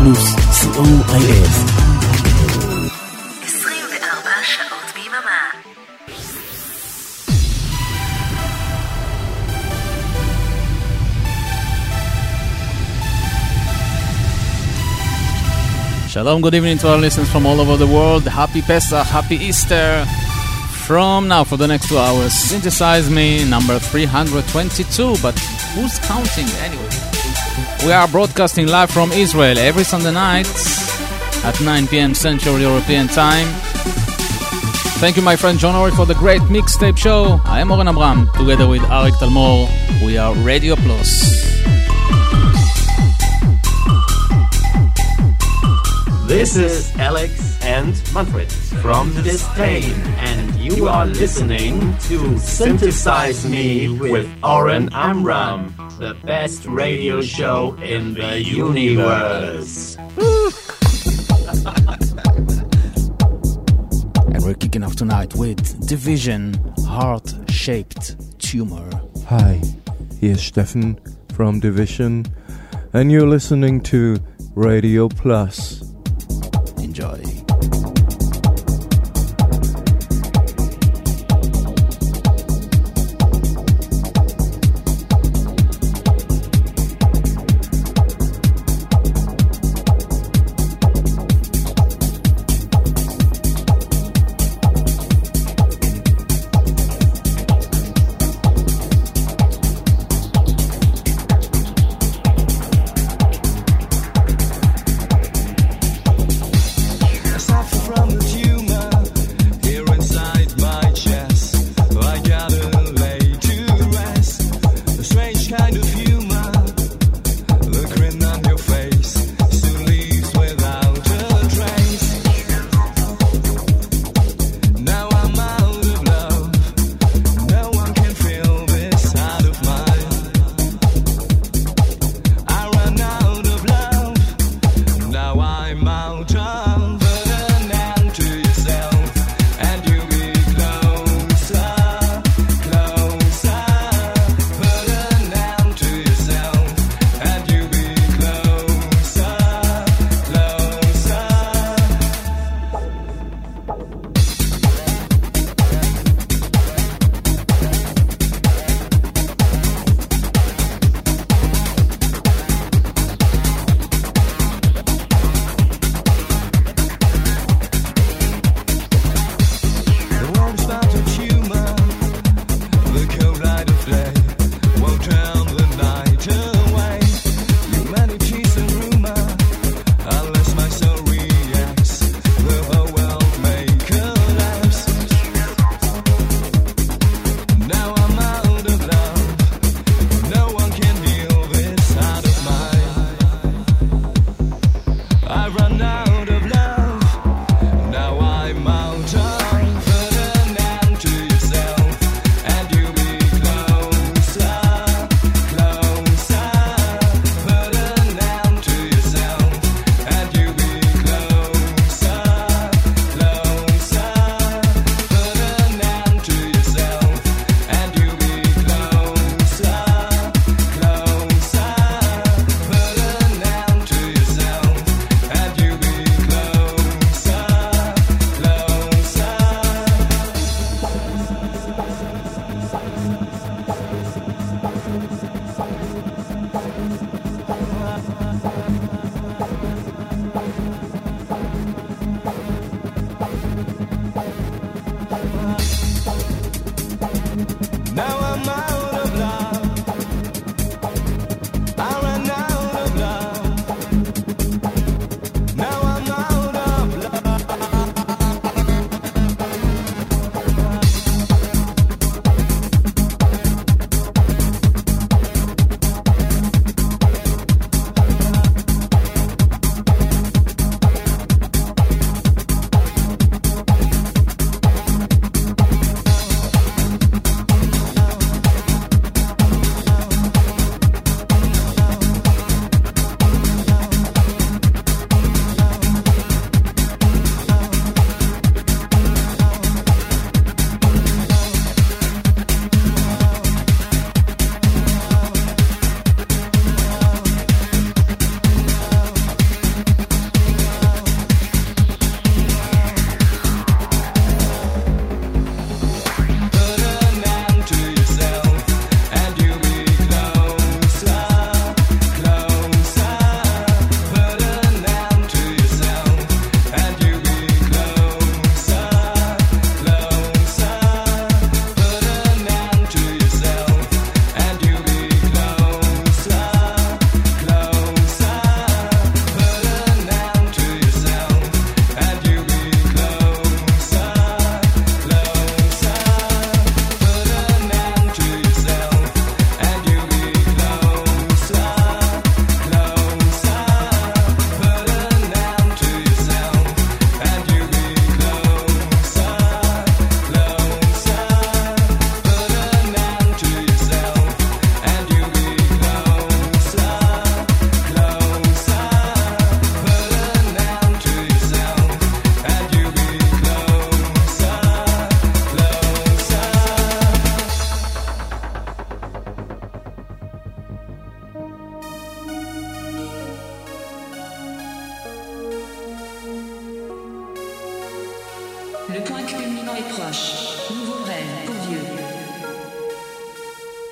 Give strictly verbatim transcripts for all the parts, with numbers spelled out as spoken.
פלוס סי או איי אל. עשרים וארבע שעות ביממה. Shalom, good evening to our listeners from all over the world. Happy Pesach, happy Easter. From now for the next two hours, Synthesize Me, number three hundred twenty-two, but who's counting anyway? We are broadcasting live from Israel every Sunday night at nine p.m. Central European Time. Thank you, my friend John Ori, for the great mixtape show. I am Oren Abram, together with Arik Talmor. We are Radio Plus. This is Alex and Manfred from Disdain, and you are listening to Synthesize Me with Oren Amram, the best radio show in the universe. And we're kicking off tonight with Division, Heart-Shaped Tumor. Hi, here's Steffen from Division, and you're listening to Radio Plus. Enjoy.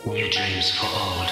New dreams for old.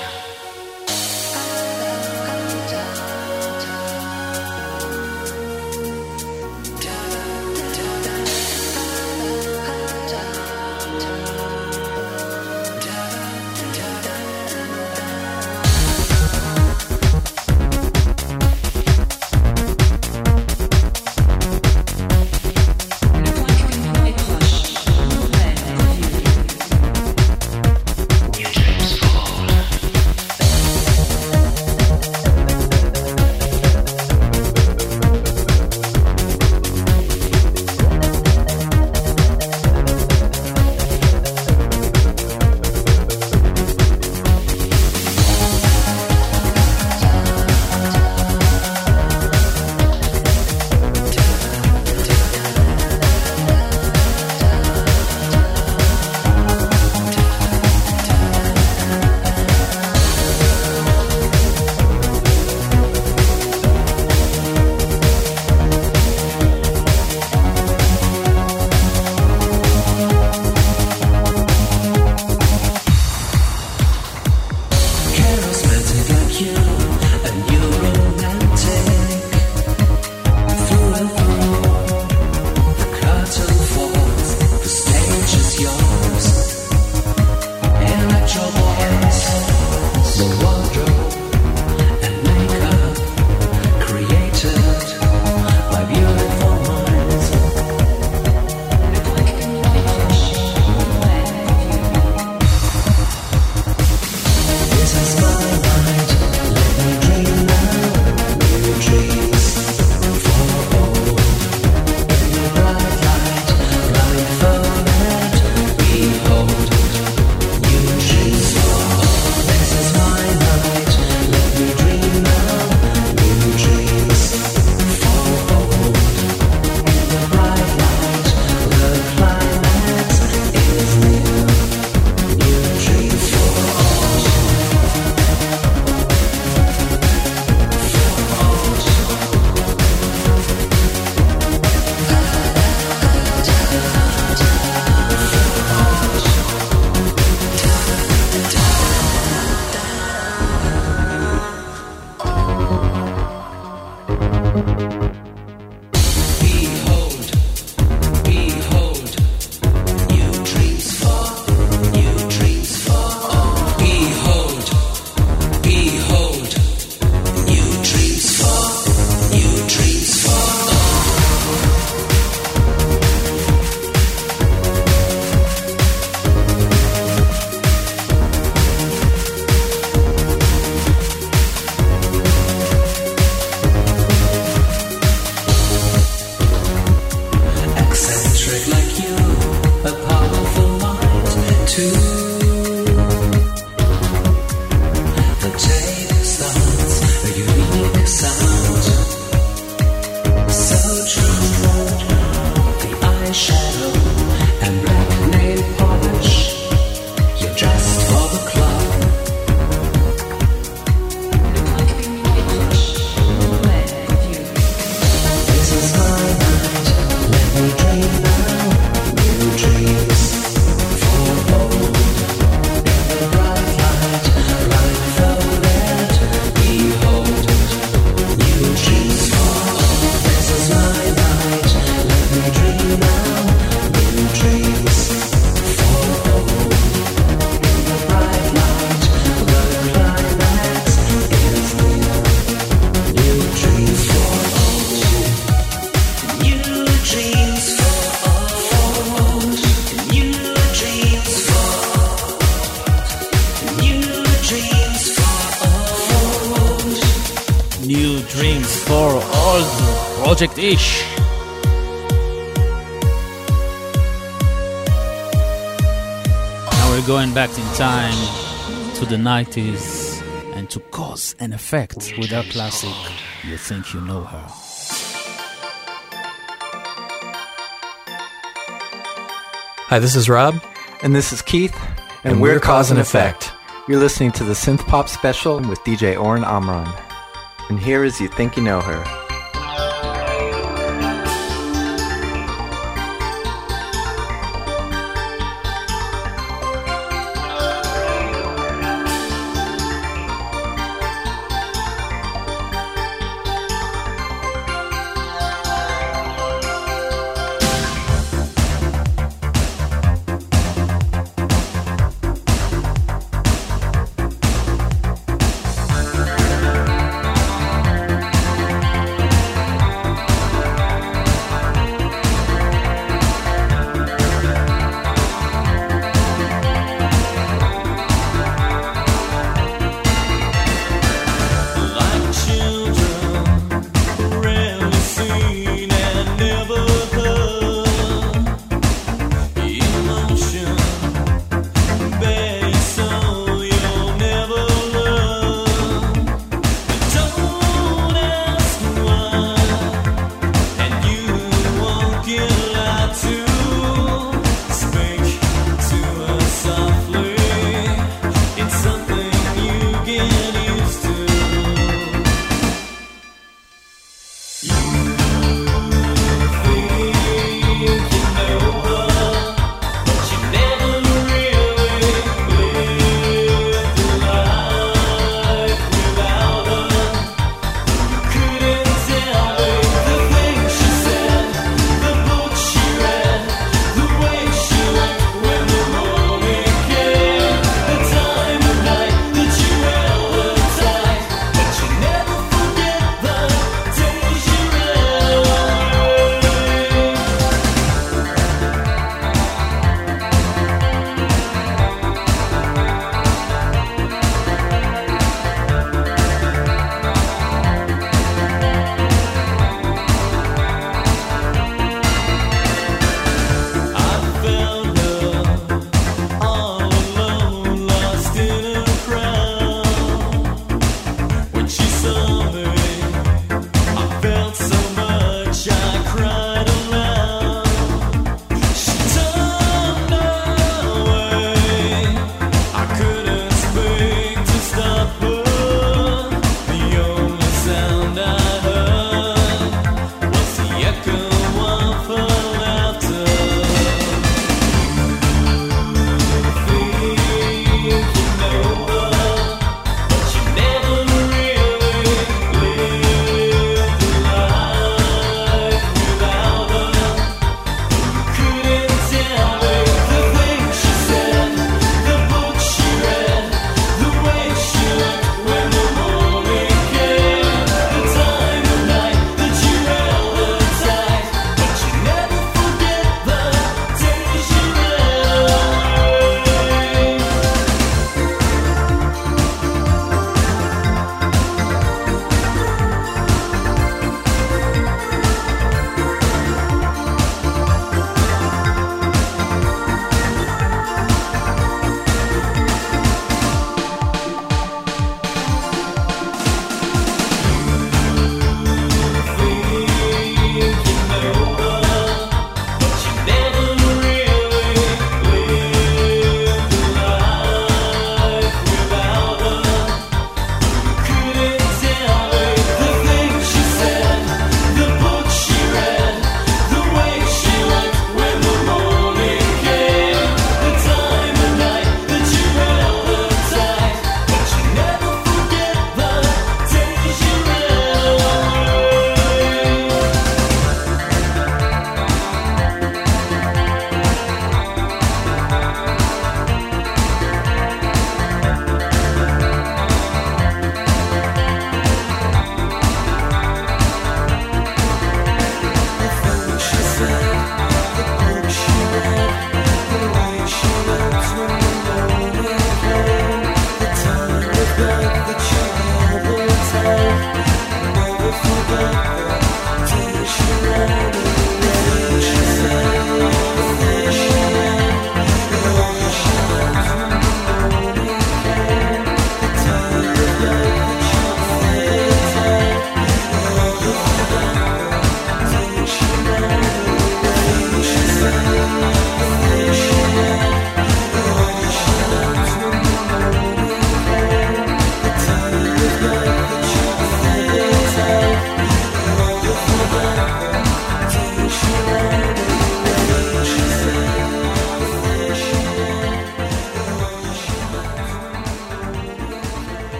Project Ish. Now we're going back in time to the nineties and to cause and effect with our classic You Think You Know Her. Hi, this is Rob. And this is Keith. And, and we're, we're Cause and Effect. effect. You're listening to the Synth Pop Special with D J Oren Amram. And here is You Think You Know Her.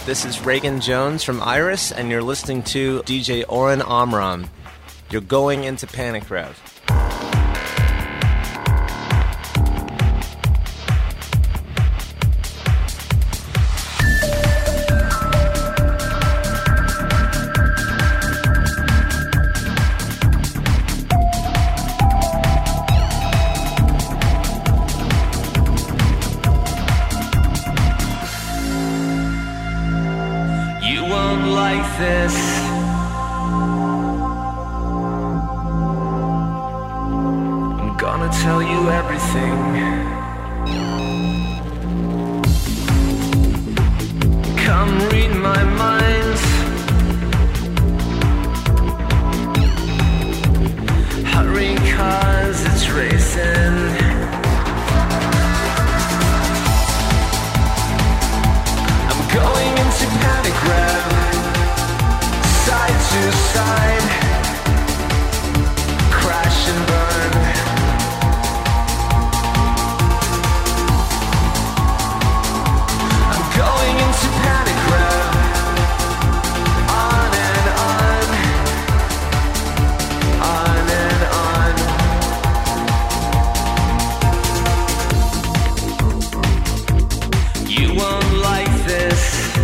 This is Reagan Jones from Iris, and you're listening to D J Oren Amram. You're going into Panic Rev. This I'm gonna tell you everything. Come read my mind. Hurry, cause it's racing. I'm going into panic rev. Side to side, crash and burn. I'm going into panic rev. On and on, on and on. You won't like this.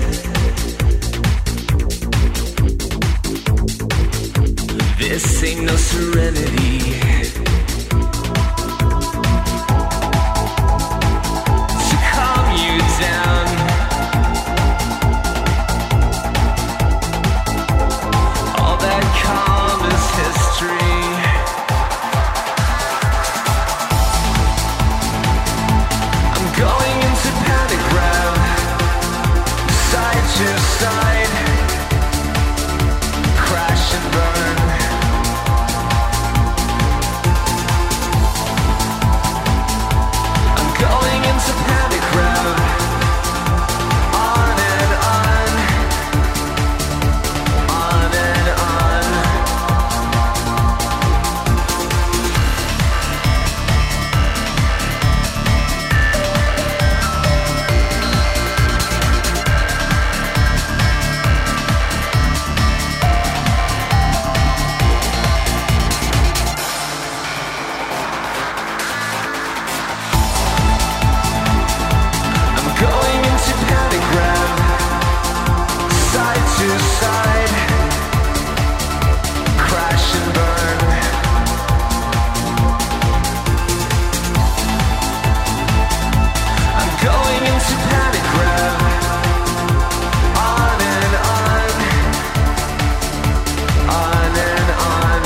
This ain't no serenity. To calm you down. All that calm is history. I'm going into panic rev. Side to side. Crash and burn. Going into panic rev. On and on. On and on. Going into panic rev. Side to side. Crash and burn. I'm going into panic rev. On and on. On and on.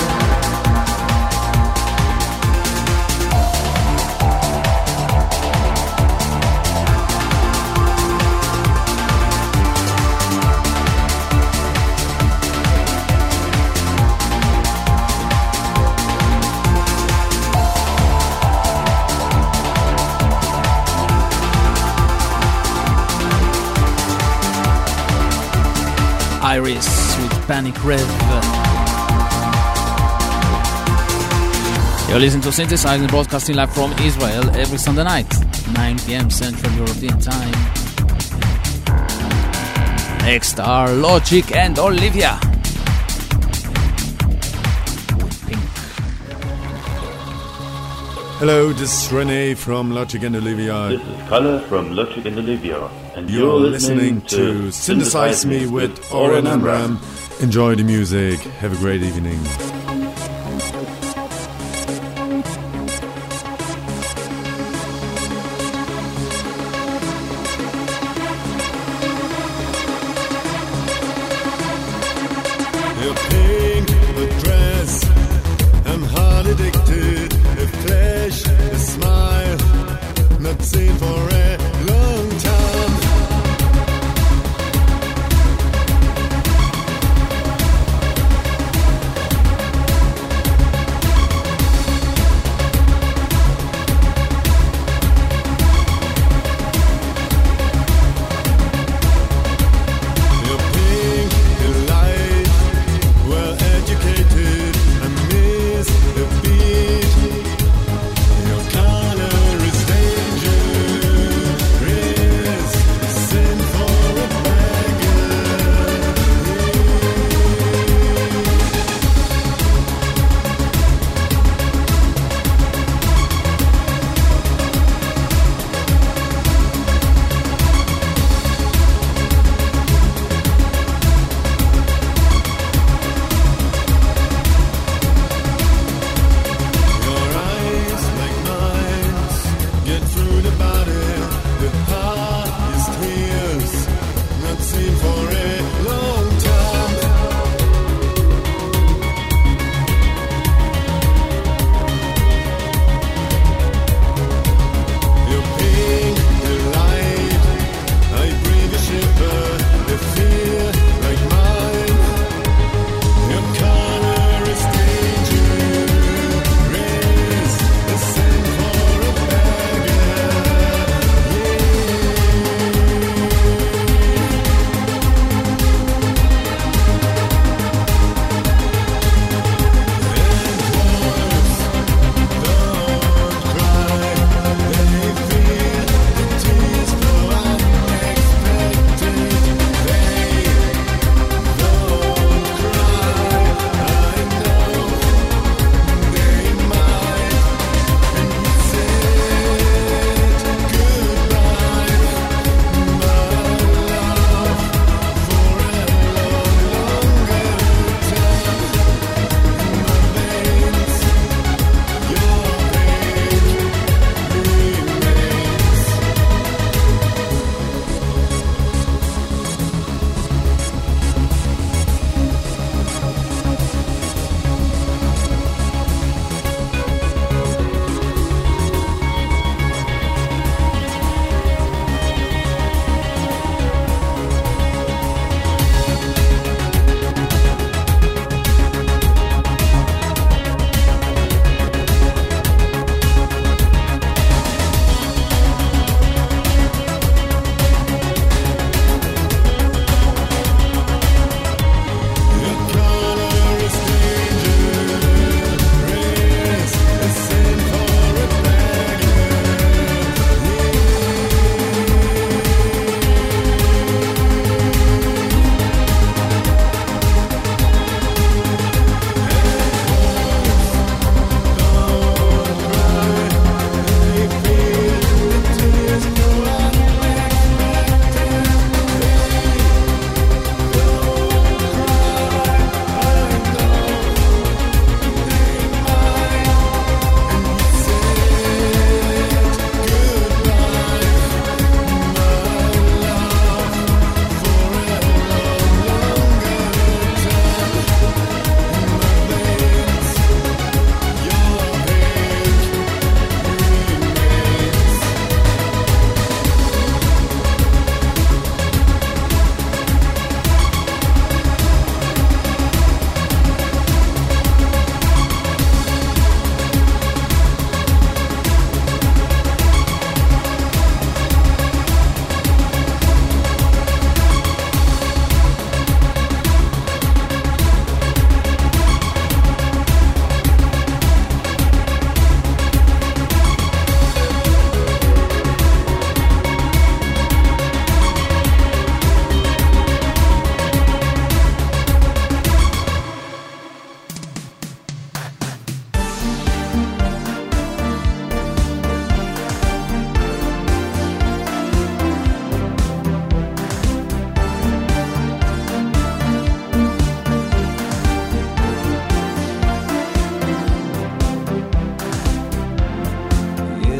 Iris with Panic Rev. You're listening to Synthesizing, broadcasting live from Israel every Sunday night, nine p.m. Central European Time. Next are Logic and Olivia. Hello, this is Rene from Logic and Olivia. This is Kalle from Logic and Olivia. And you're, you're listening, listening to Synthesize Me with Oren Amram. Enjoy the music. Have a great evening. Your pink dress, I'm hard addicted. A flash, a smile, not seen for a long time.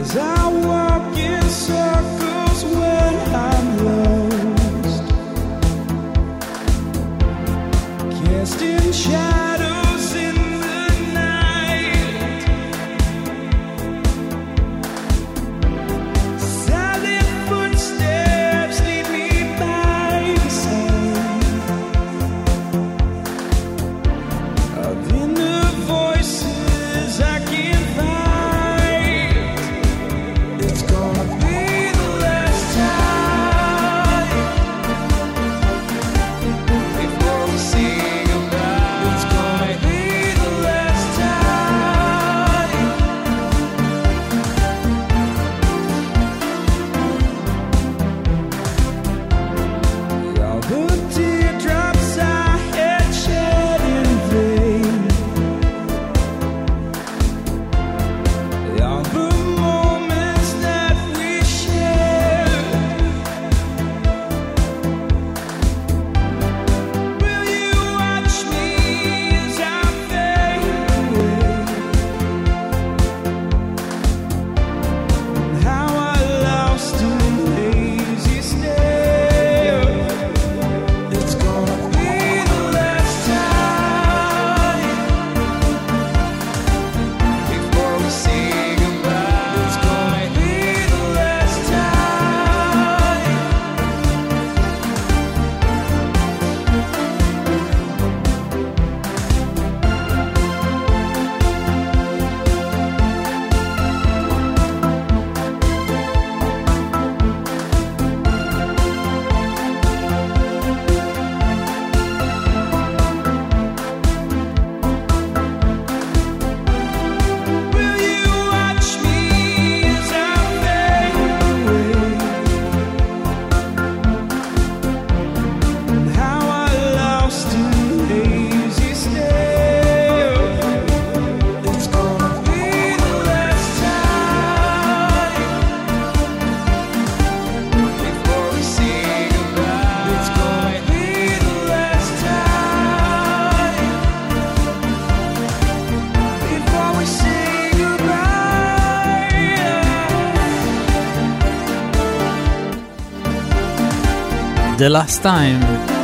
The Last Time,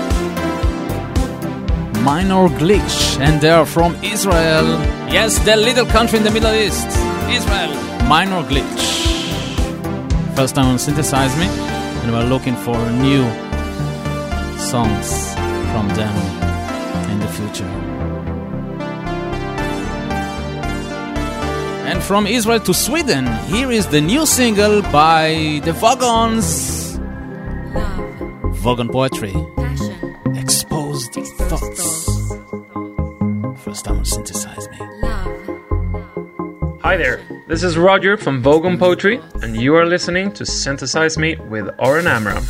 Minor Glitch, and they are from Israel. Yes, the little country in the Middle East, Israel. Minor Glitch. First time on Synthesize Me, and we're looking for new songs from them in the future. And from Israel to Sweden, here is the new single by the Vogons. Vogon Poetry. Passion. Exposed Thoughts. First time on Synthesize Me. Love. Hi there, this is Roger from Vogon Poetry, and you are listening to Synthesize Me with Oren Amram.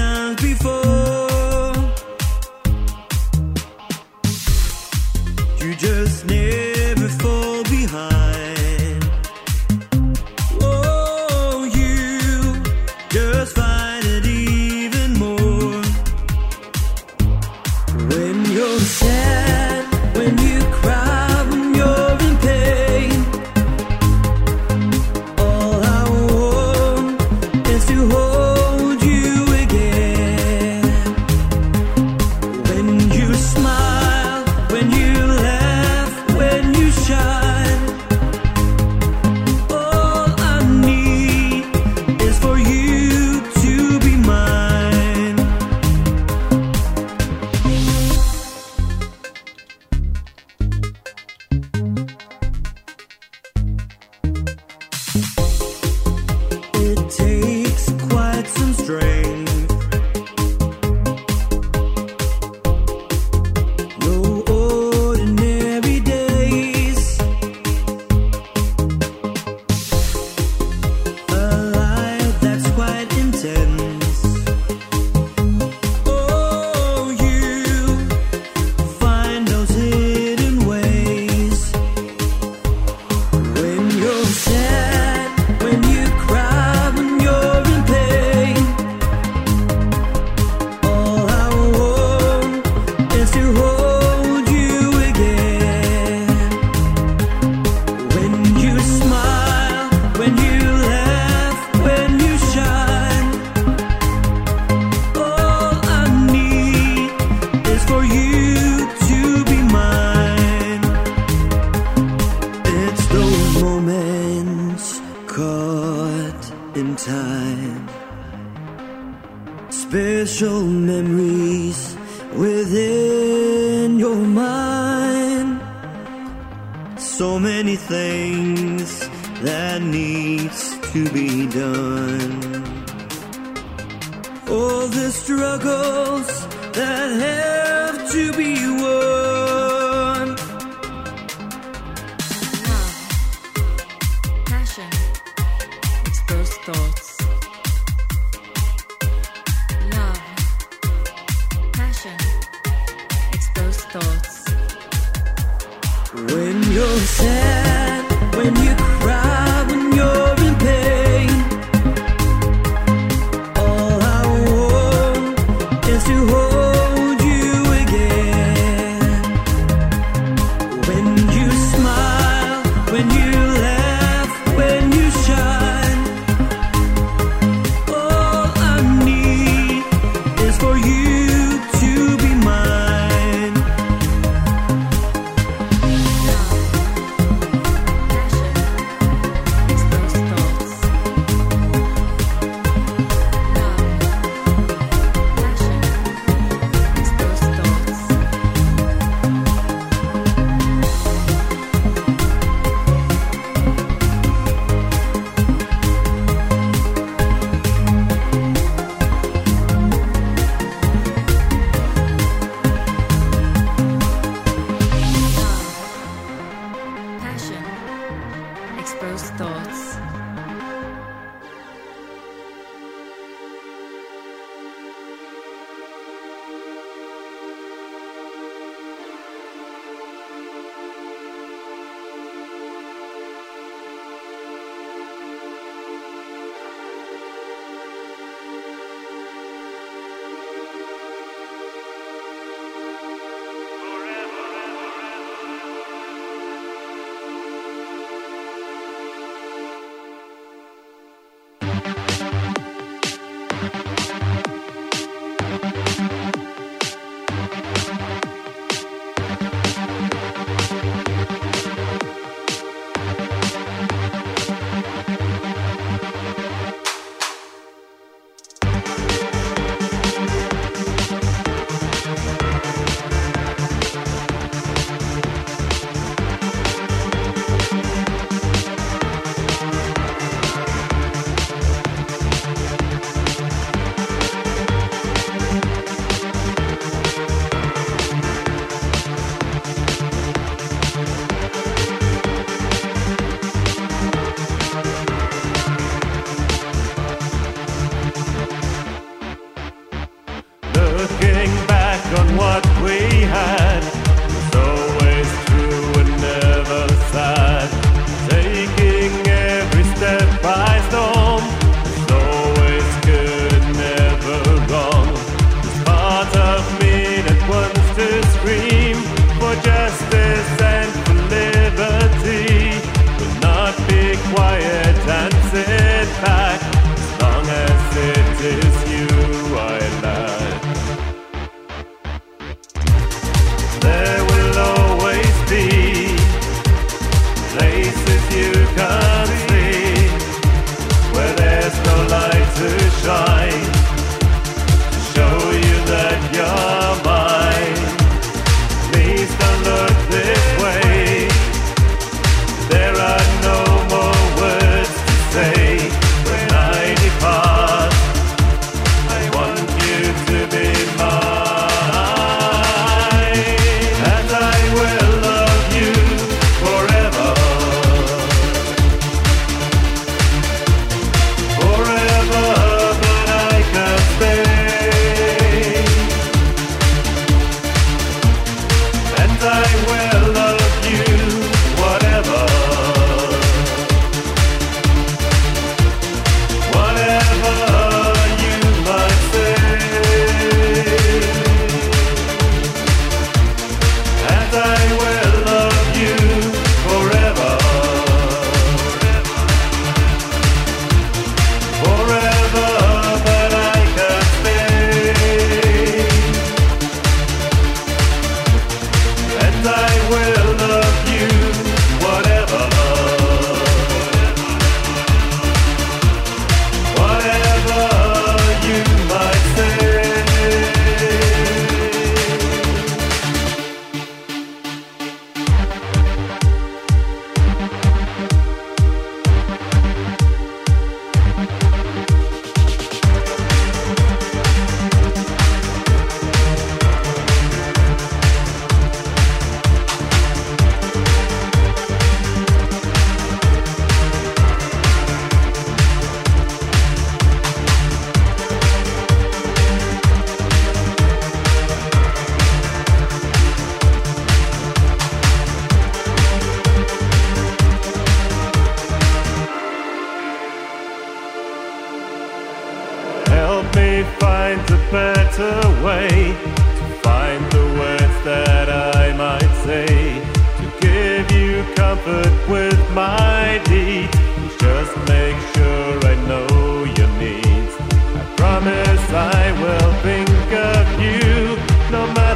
You peace within your mind. So many things that needs to be done. All the struggles that have to be won. Love, passion, exposed thoughts. Love, passion, exposed thoughts. When you're sad, when you cry, when you're in pain, all I want is to hold you again. When you smile, when you laugh, when you shine, all I need is for you to be mine.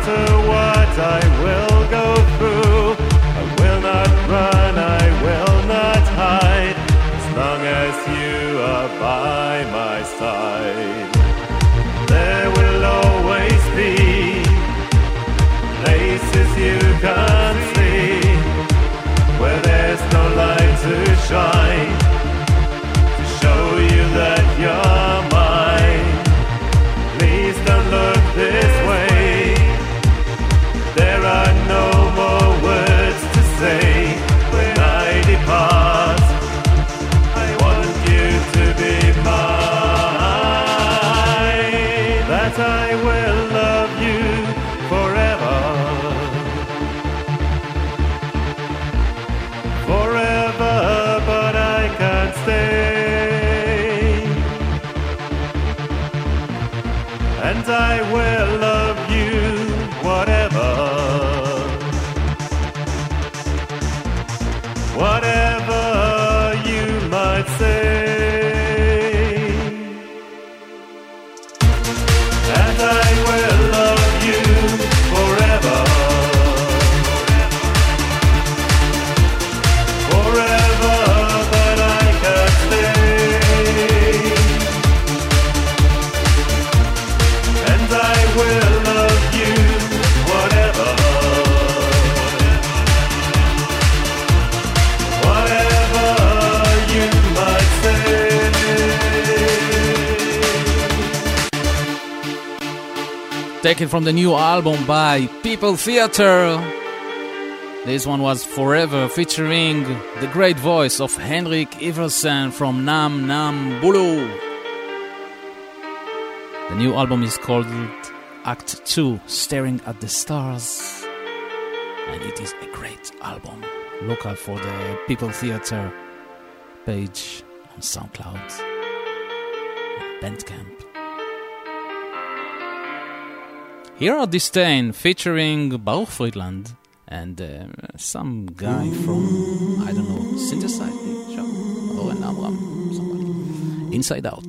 matter what I will go through, I will not run, I will not hide, as long as you are by my side. There will always be places you can't see, where there's no light to shine, to show you that you're mine. Please don't look this way, there are no more words to say. When I depart, I want you to be mine, that I will love you forever, forever, but I can't stay, and I will love you whatever, whatever you might say, and I will love you forever, forever, but I can't stay, and I will love you whatever, whatever you might say. Taken from the new album by People Theater. This one was Forever, featuring the great voice of Henrik Iversen from Nam Nam Bulu. The new album is called Act two, Staring at the Stars, and it is a great album. Look out for the People Theater page on SoundCloud and Bandcamp. Here are Disdain featuring Baruch Friedland and uh, some guy from, I don't know, Synthesize Me, sure. Oren Amram, somebody. Inside Out.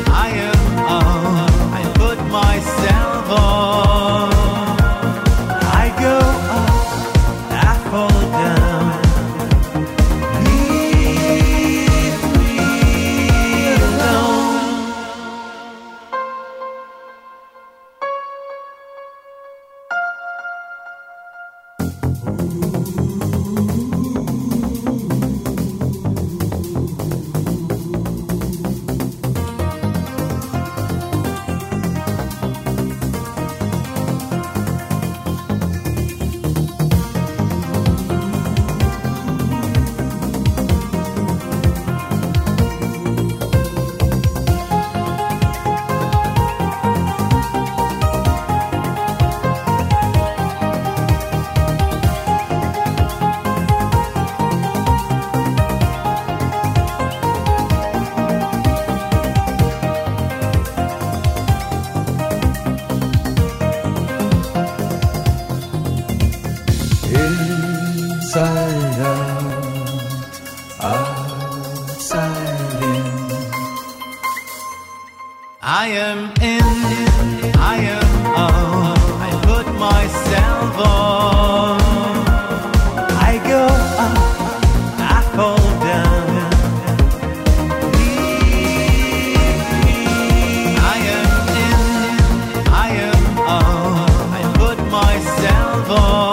Myself on Inside out, outside in. I am in, I am out. I put myself on. I go up, I fall down. Leave me. I am in, I am out. I put myself on.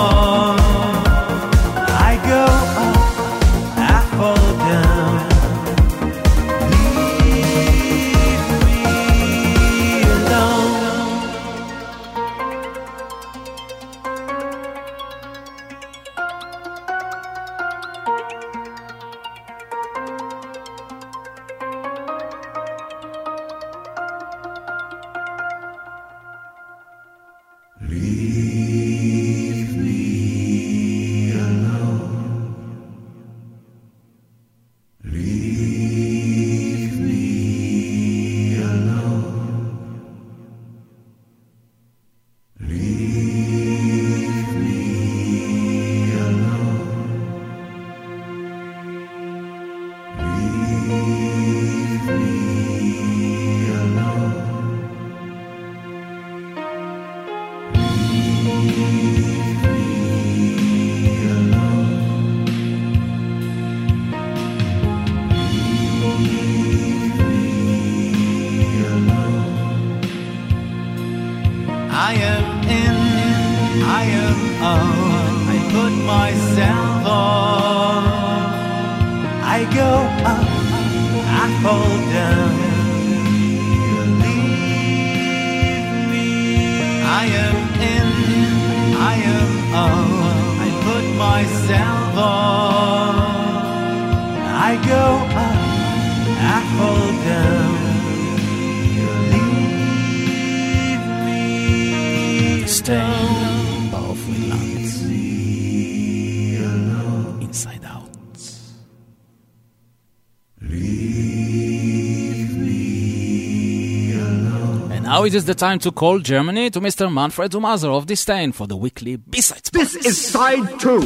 Now it is the time to call Germany to Mister Manfred Thomaser of Disdain for the weekly B-side spot. This is side two.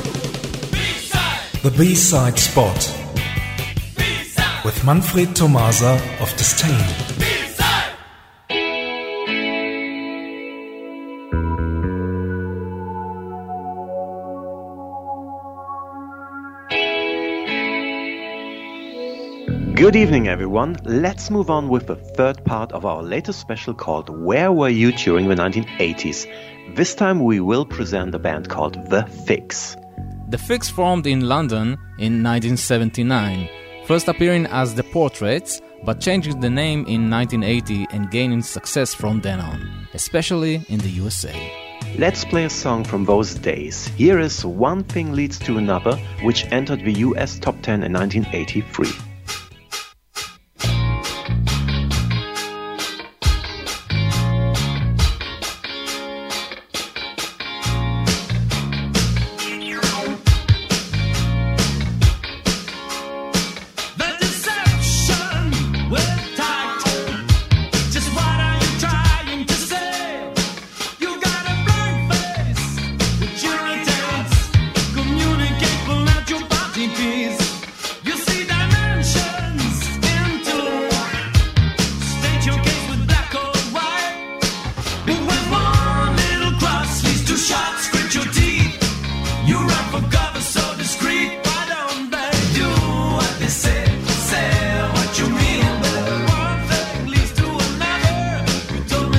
B-side. The B-side spot. B-side. With Manfred Thomaser of Disdain. B-side. Good evening, everyone. Let's move on with the third part of our latest special called Where Were You During the nineteen eighties? This time we will present a band called The Fix. The Fix formed in London in nineteen seventy-nine, first appearing as The Portraits, but changing the name in nineteen eighty and gaining success from then on, especially in the U S A. Let's play a song from those days. Here is One Thing Leads to Another, which entered the U S top ten in nineteen eighty-three.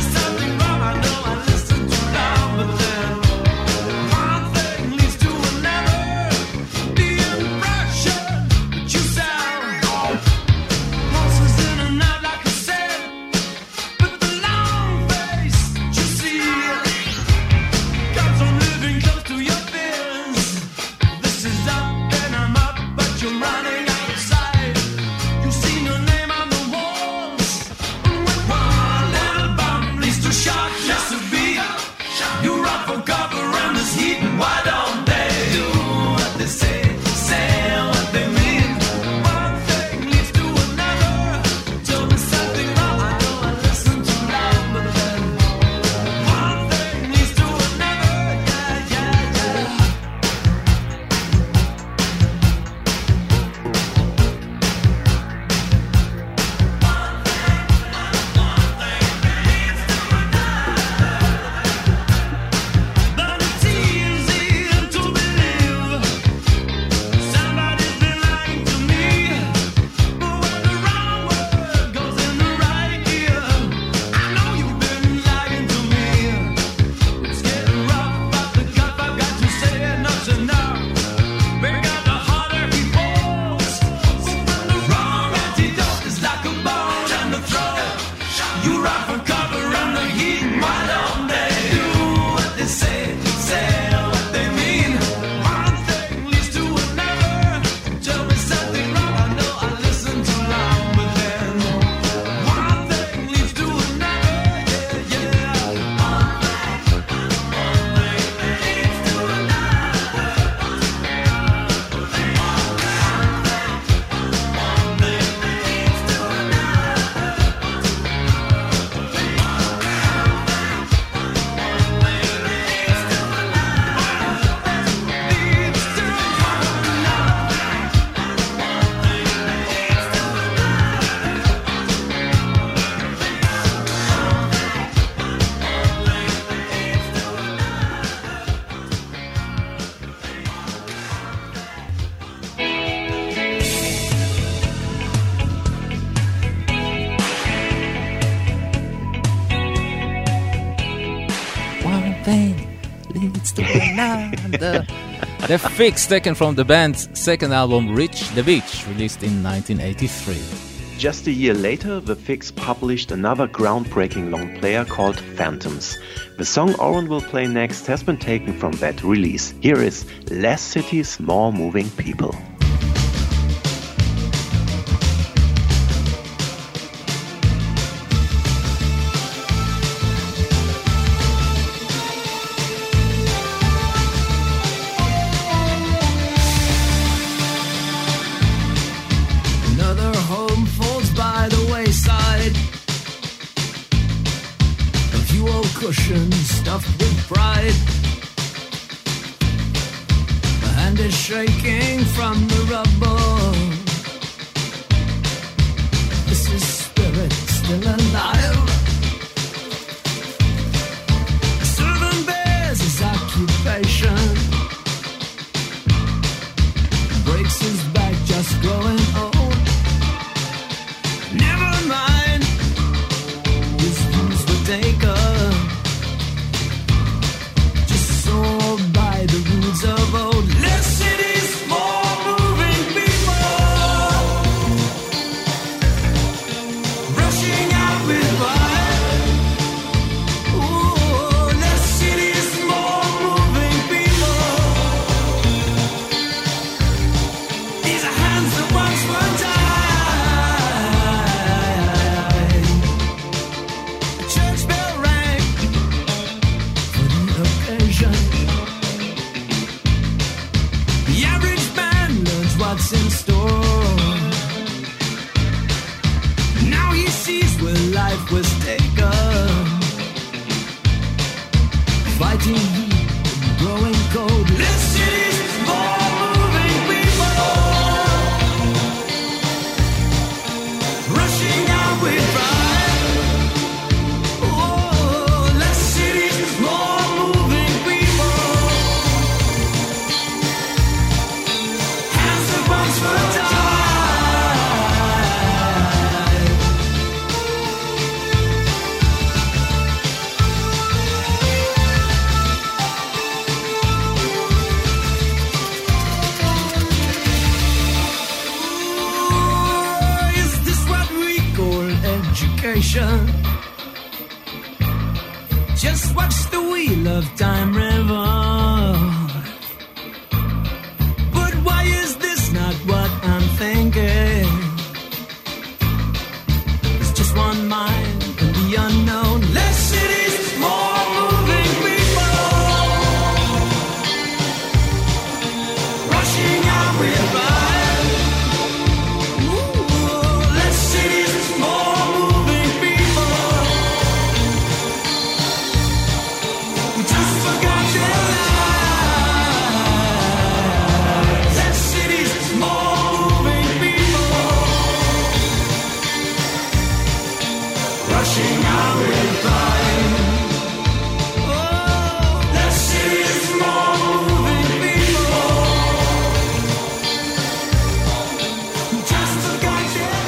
One thing leads to another. the, the Fix, taken from the band's second album, Reach the Beach, released in nineteen eighty-three. Just a year later, The Fix published another groundbreaking long player called Phantoms. The song Oren will play next has been taken from that release. Here is Less Cities, More Moving People. Cushion stuffed with pride. The hand is shaking from the rubble. This is spirit still alive. Serving bears his occupation. Breaks his back just growing old. Never mind, his views were taken. By the rules of old. Less cities, more moving people. Rushing out with fire. Ooh, less cities, more moving people. These are hands that once were tied. The church bell rang for the occasion. What's in store? Now he sees where life was taken. Fighting heat and growing cold. Less cities, more moving people. Rushing out with pride. Oh, less cities, more moving people. Once for a time. Ooh, is this what we call education? Just watch the wheel of time revolve. Not what I'm thinking. It's just one mind in the unknown. Less cities, more moving people. Rushing out with fire. Ooh, less cities, more moving people. We just forgot their lives. Rushing out with fire. Oh, less cities, more moving people. Just forgot their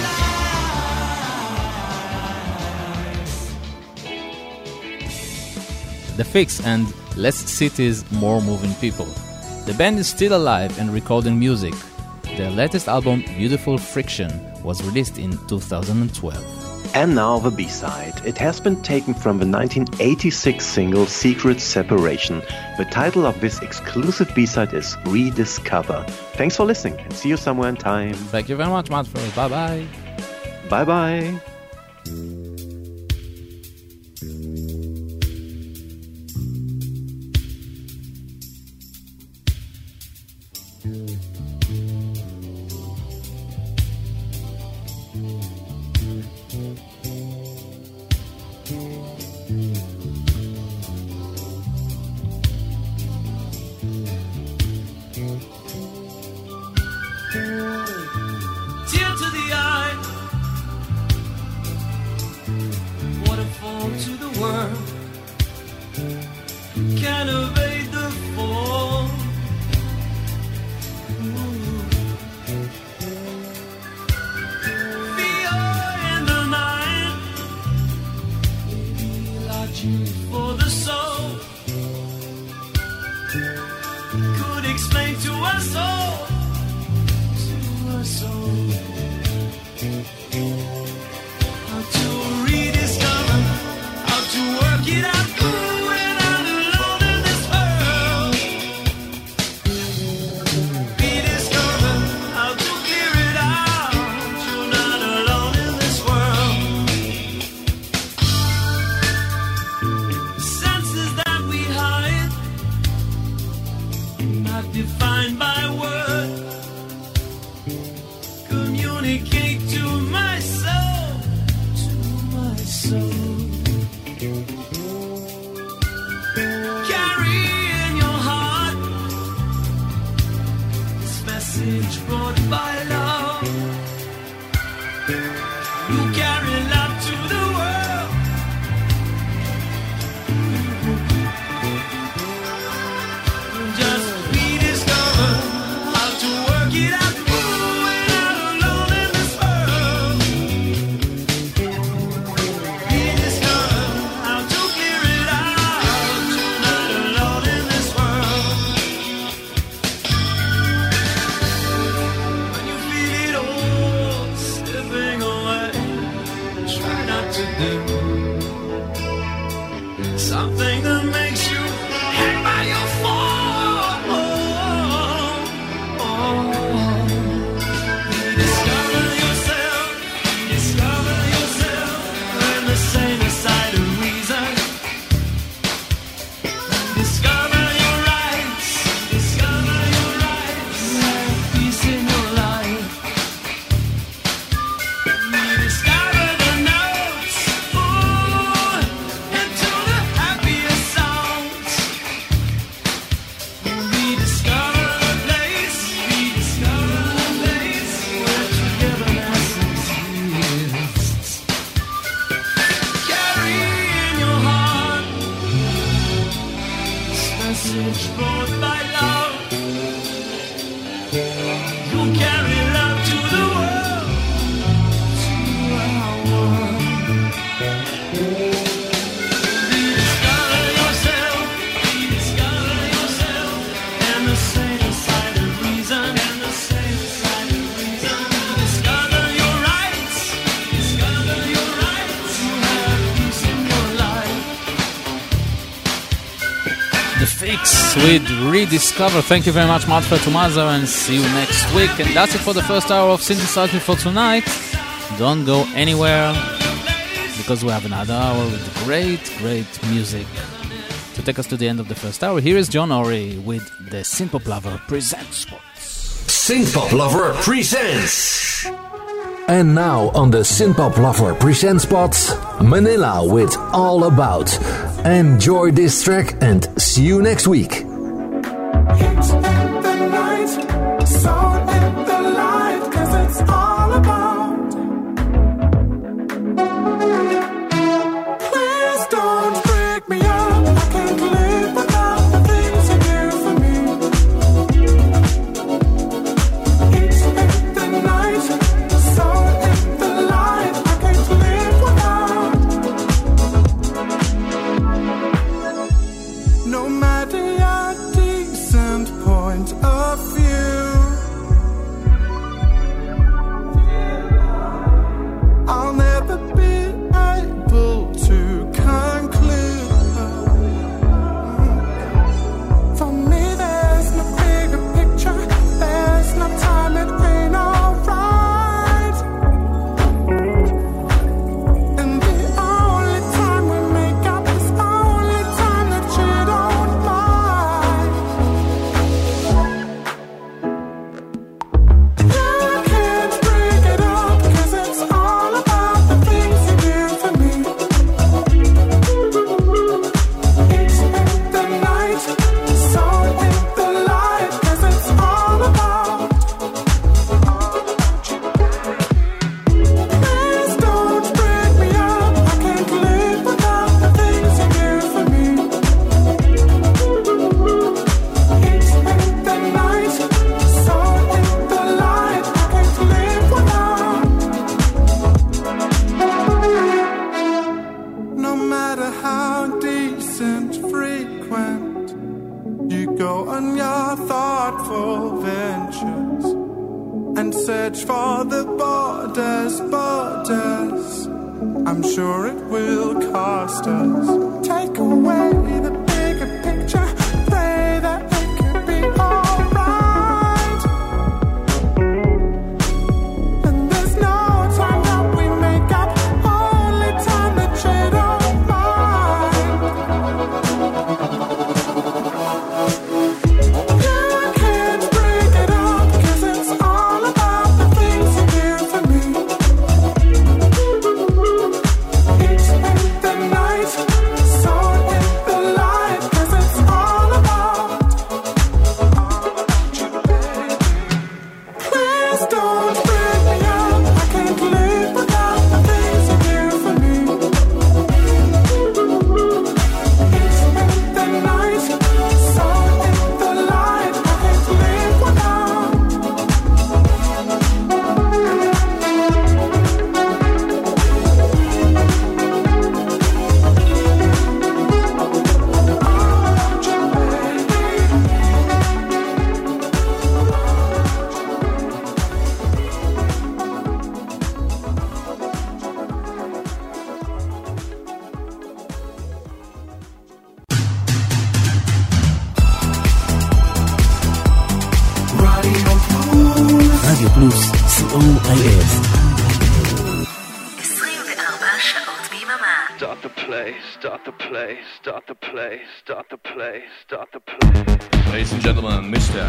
lives. The Fix and Less Cities, More Moving People. The band is still alive and recording music. Their latest album, Beautiful Friction, was released in two thousand twelve. And now the B-side. It has been taken from the nineteen eighty-six single Secret Separation. The title of this exclusive B-side is Rediscover. Thanks for listening and see you somewhere in time. Thank you very much, Manfred. Bye-bye. Bye-bye. Tear to the eye, waterfall to the world, can't evade the fall. explain to us all, to us all, how to rediscover, how to work it out. We're not alone in this world. Rediscover how to clear it out. You're not alone in this world. The senses that we hide, not defined by word, communicate to my soul, to my soul. Carry in your heart this message brought by love. You carry love to the world. Just rediscover how to work it out. We're not alone in this world. Rediscover how to clear it out. You're not alone in this world. When you feel it all slipping away, try not to do something that makes you hang by your form. Rediscover yourself, discover yourself, learn the saner side of reason. Discover your rights, discover your rights, have peace in your life. Rediscover the notes, ooh, into the happiest sounds. Rediscover the place, rediscover the place where togetherness exists. Carry in your heart this message brought by love. You'll carry love to the world, to our world. Rediscover yourself, rediscover yourself, and the saner side of reason, and the saner side of reason. Discover your rights, discover your rights, you have peace in your life. The Fix with Rediscover. Thank you very much, Manfred Tomazer, and see you next week. And that's it for the first hour of Synthesize Me for tonight. Don't go anywhere, because we have another hour with great, great music to take us to the end of the first hour. Here is John Ory with the Synthpop Lover Presents. Synthpop Lover presents. And now on the Synthpop Lover presents spots, Manila with All About. Enjoy this track and see you next week. No matter your decent point of view, our thoughtful ventures and search for the borders, borders. I'm sure it will cost us. Take away the bigger picture, pray that it could be alright. And there's no time that we make up, only time that you don't mind. You can't break it up, 'cause it's all about the things you do for me. It's in the night, so in the light, 'cause it's all about, you, baby. Please don't break me up, I can't live without the things you do for me. It's in the night, so in the light, I can't live without. רדיו פלוס, סי או איי אס. עשרים וארבע שעות ביממה. Start the play, start the play, start the play, start the play, start the play. Ladies and gentlemen, Mister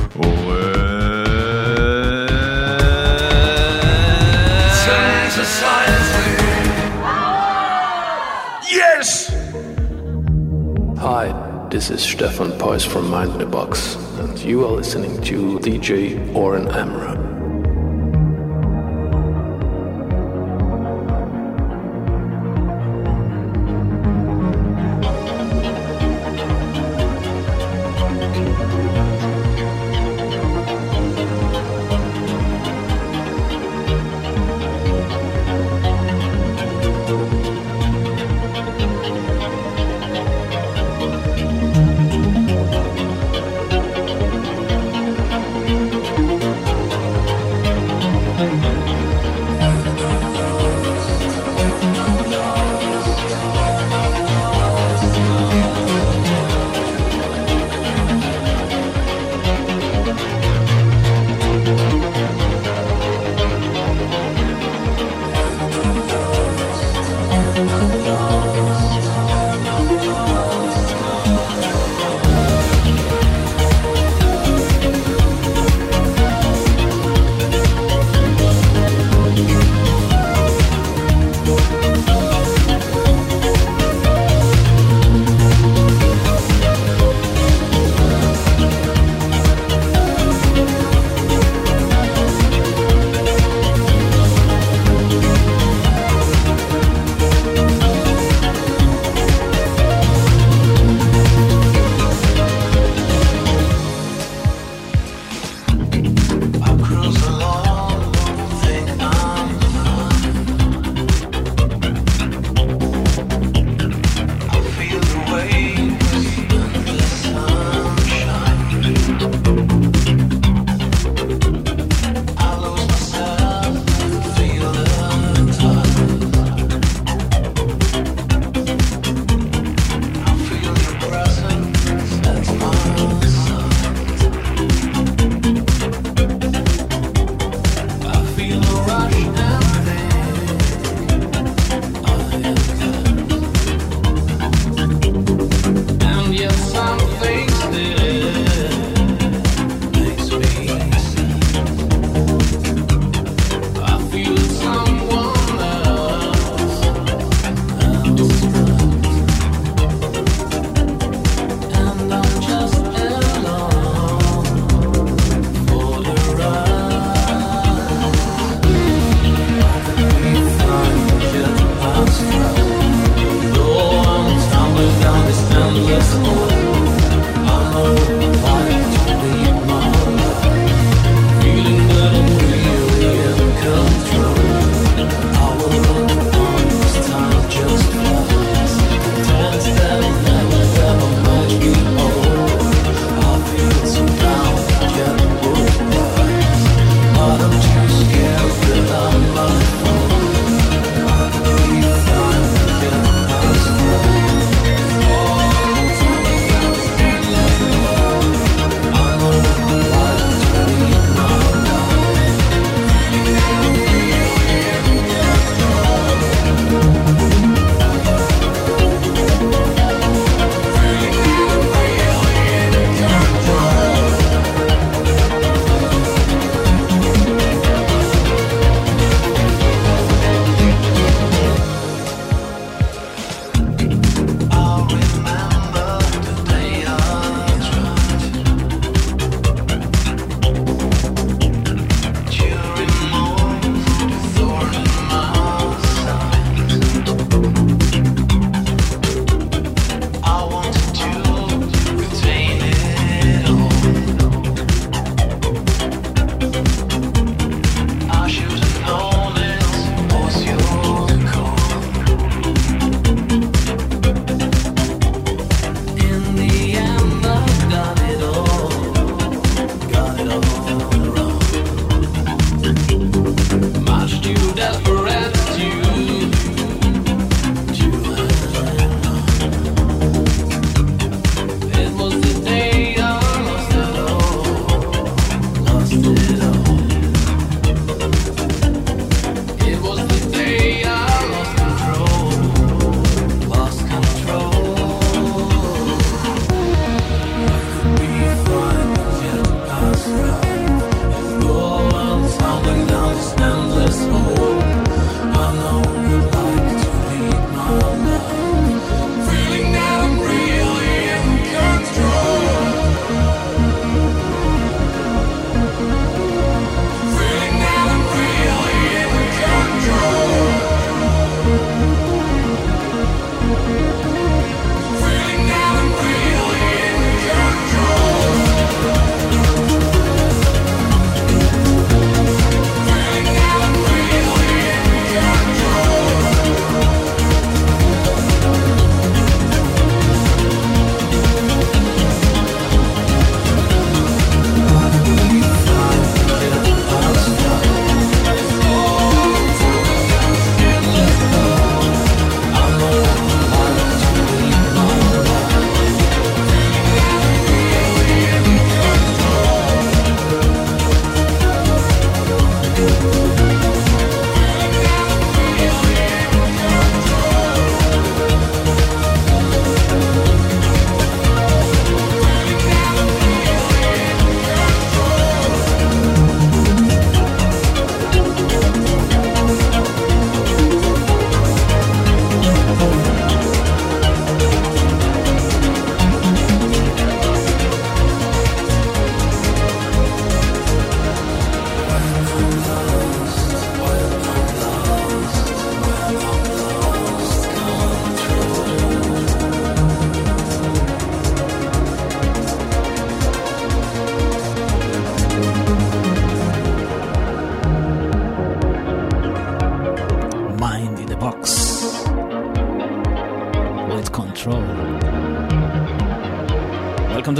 Yes! Hi, this is Stefan Peuss from Mind in the Box, and you are listening to D J Oren Amram.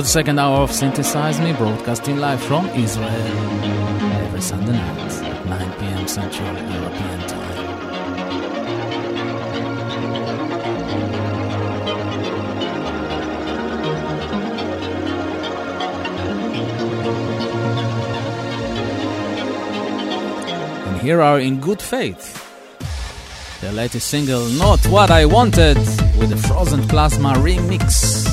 second hour of Synthesize Me, broadcasting live from Israel every Sunday night at nine p.m. Central European Time. And here are In Good Faith, the latest single, Not What I Wanted, with the Frozen Plasma remix.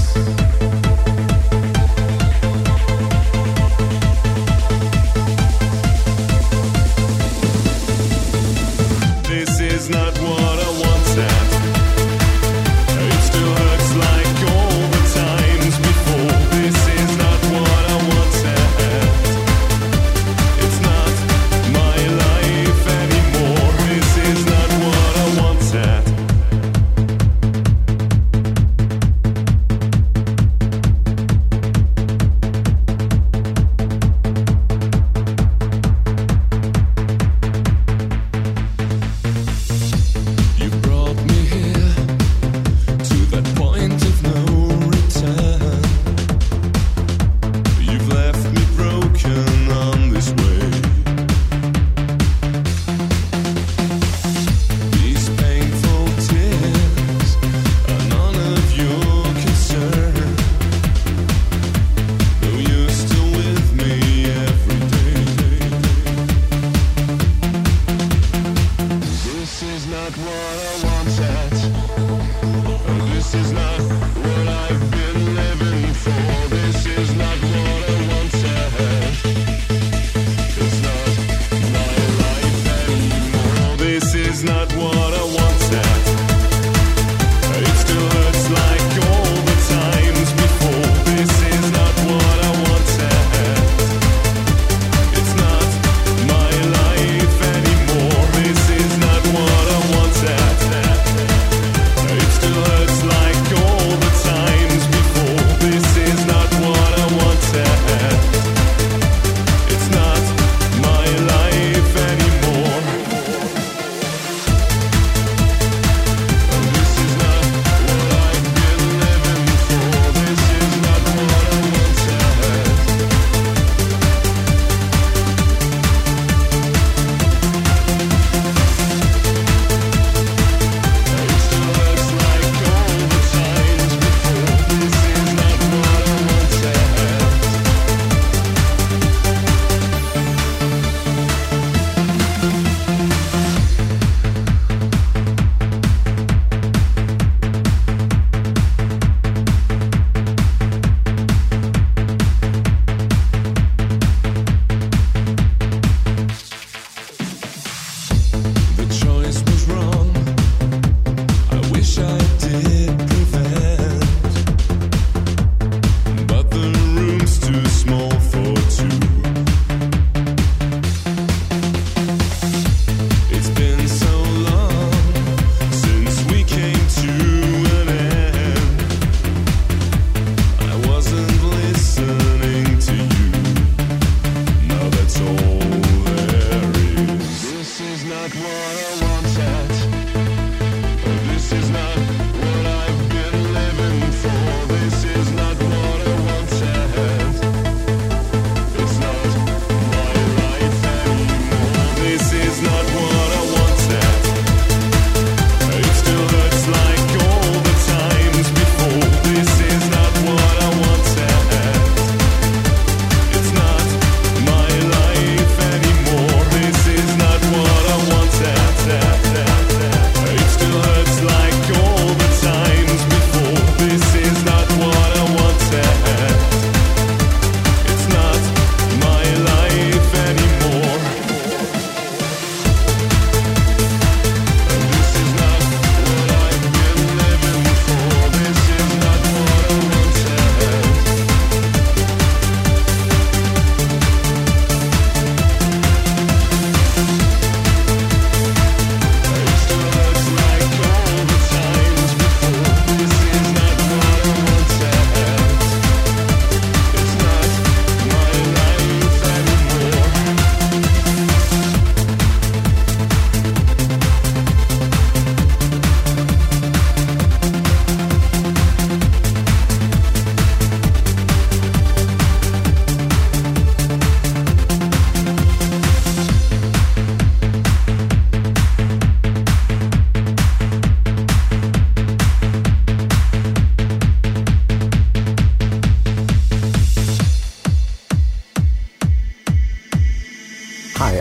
Is not what I wanted. It still hurts like all the times before. This is not what I wanted. It's not my life anymore. This is not what I wanted.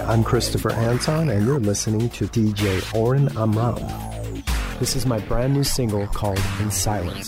I'm Christopher Anton, and you're listening to D J Oren Amram. This is my brand new single called In Silence.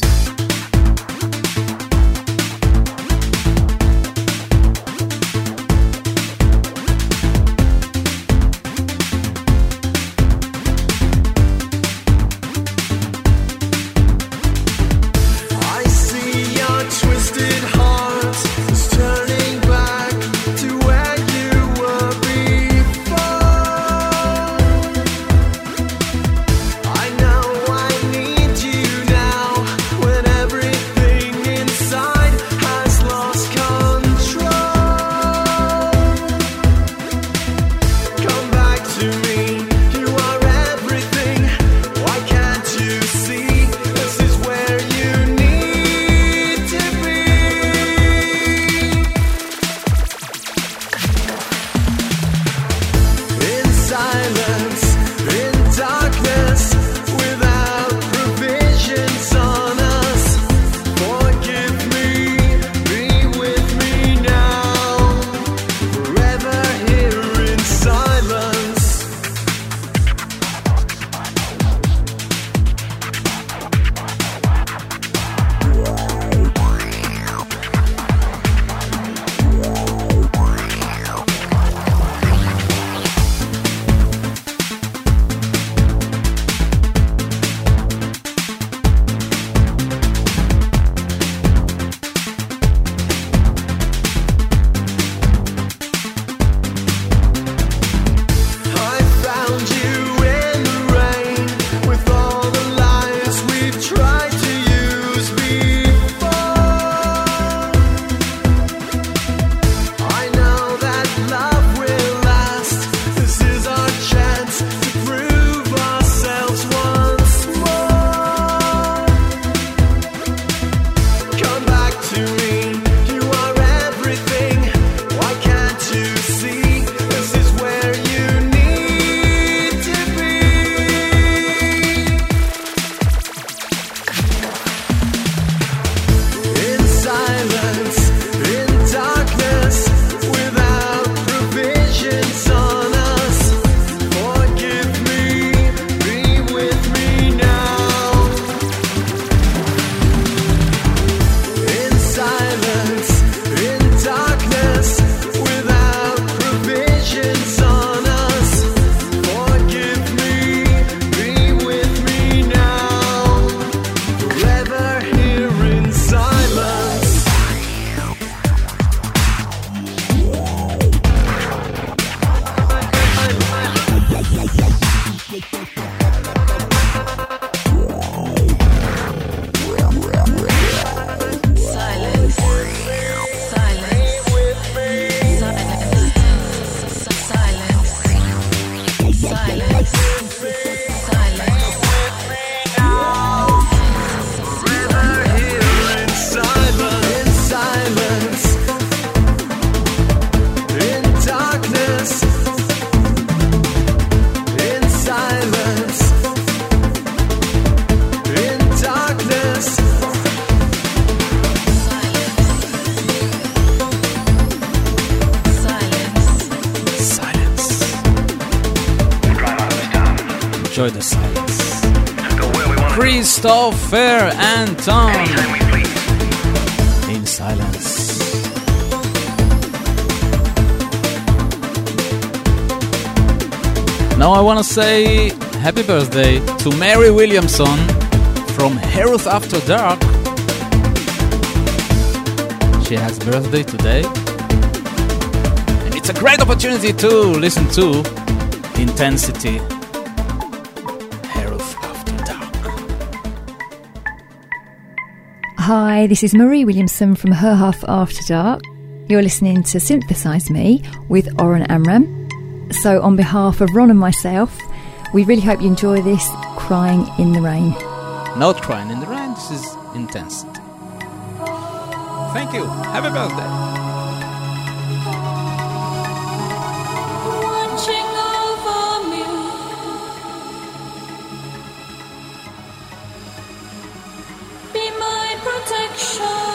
Enjoy the silence. Christopher Anton. In silence. Now I want to say happy birthday to Mary Williamson from Heroes After Dark. She has birthday today. And it's a great opportunity to listen to Intensity. Hi, this is Marie Williamson from Her Half After Dark. You're listening to Synthesize Me with Oren Amram. So on behalf of Ron and myself, we really hope you enjoy this Crying in the Rain. Not Crying in the Rain, this is Intensity. Thank you. Happy birthday. Watching over me, be my protection.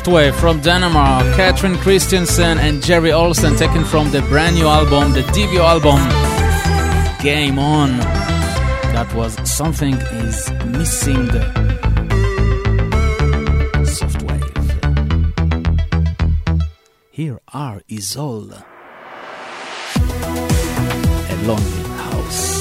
Softwave from Denmark, Katrin Christiansen and Jerry Olsen, taken from the brand new album, the debut album, Game On. That was Something Is Missing. Softwave. Here are Isol. A Lonely House.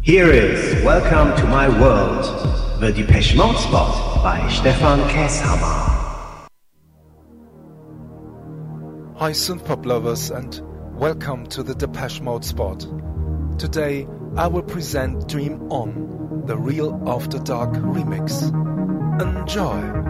Here is Welcome to My World, the Depeche Mode spot by Stefan Käshammer. Hi synth-pop lovers and welcome to the Depeche Mode spot. Today I will present Dream On, the Real After Dark remix. Enjoy!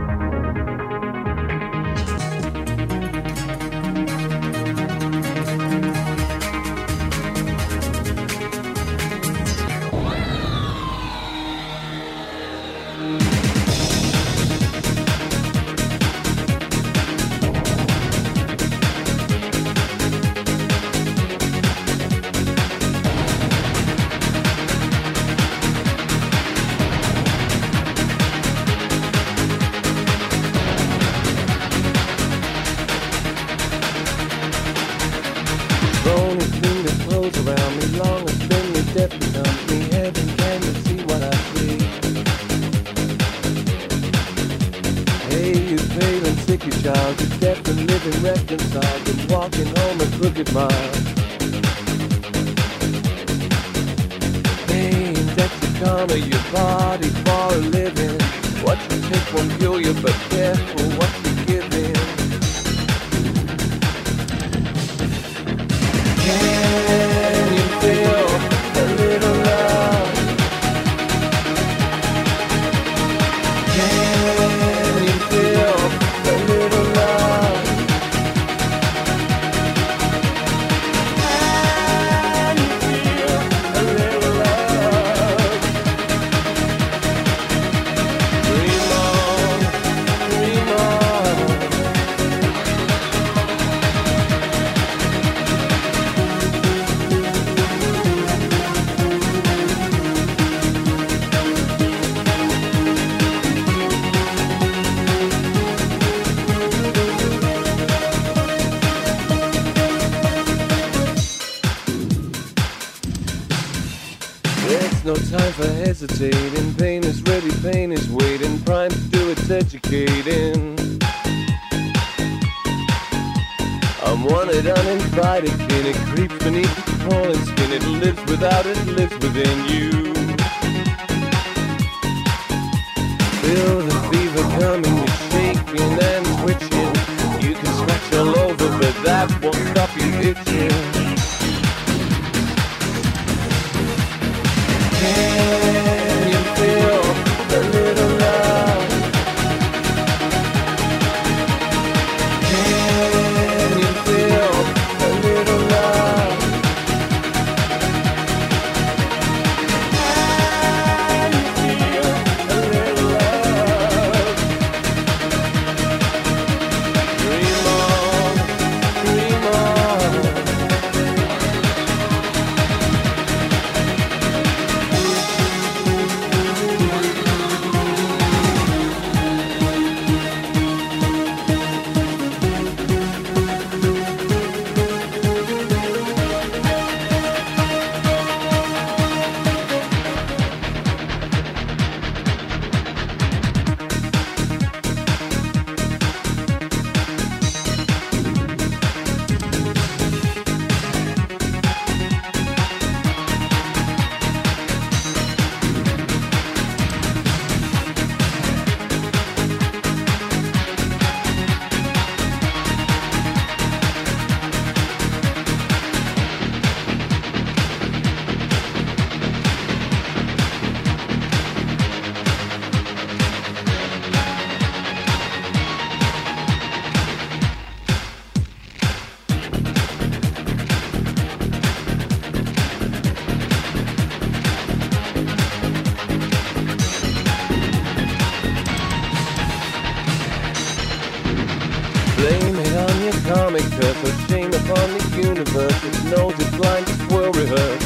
No time for hesitating. Pain is ready, pain is waiting. Prime to do its educating. I'm wanted, uninvited. Kin. It creeps beneath the crawling skin. It lives without it, lives within you. Feel the fever coming, you're shaking and twitching. You can scratch all over, but that won't stop you itching. Can you feel a little love? Can you feel a little love? Can you feel a little love? Dream on, dream on. Blame it on your comic purpose, shame upon the universe. It knows it's blind, it will rehearse.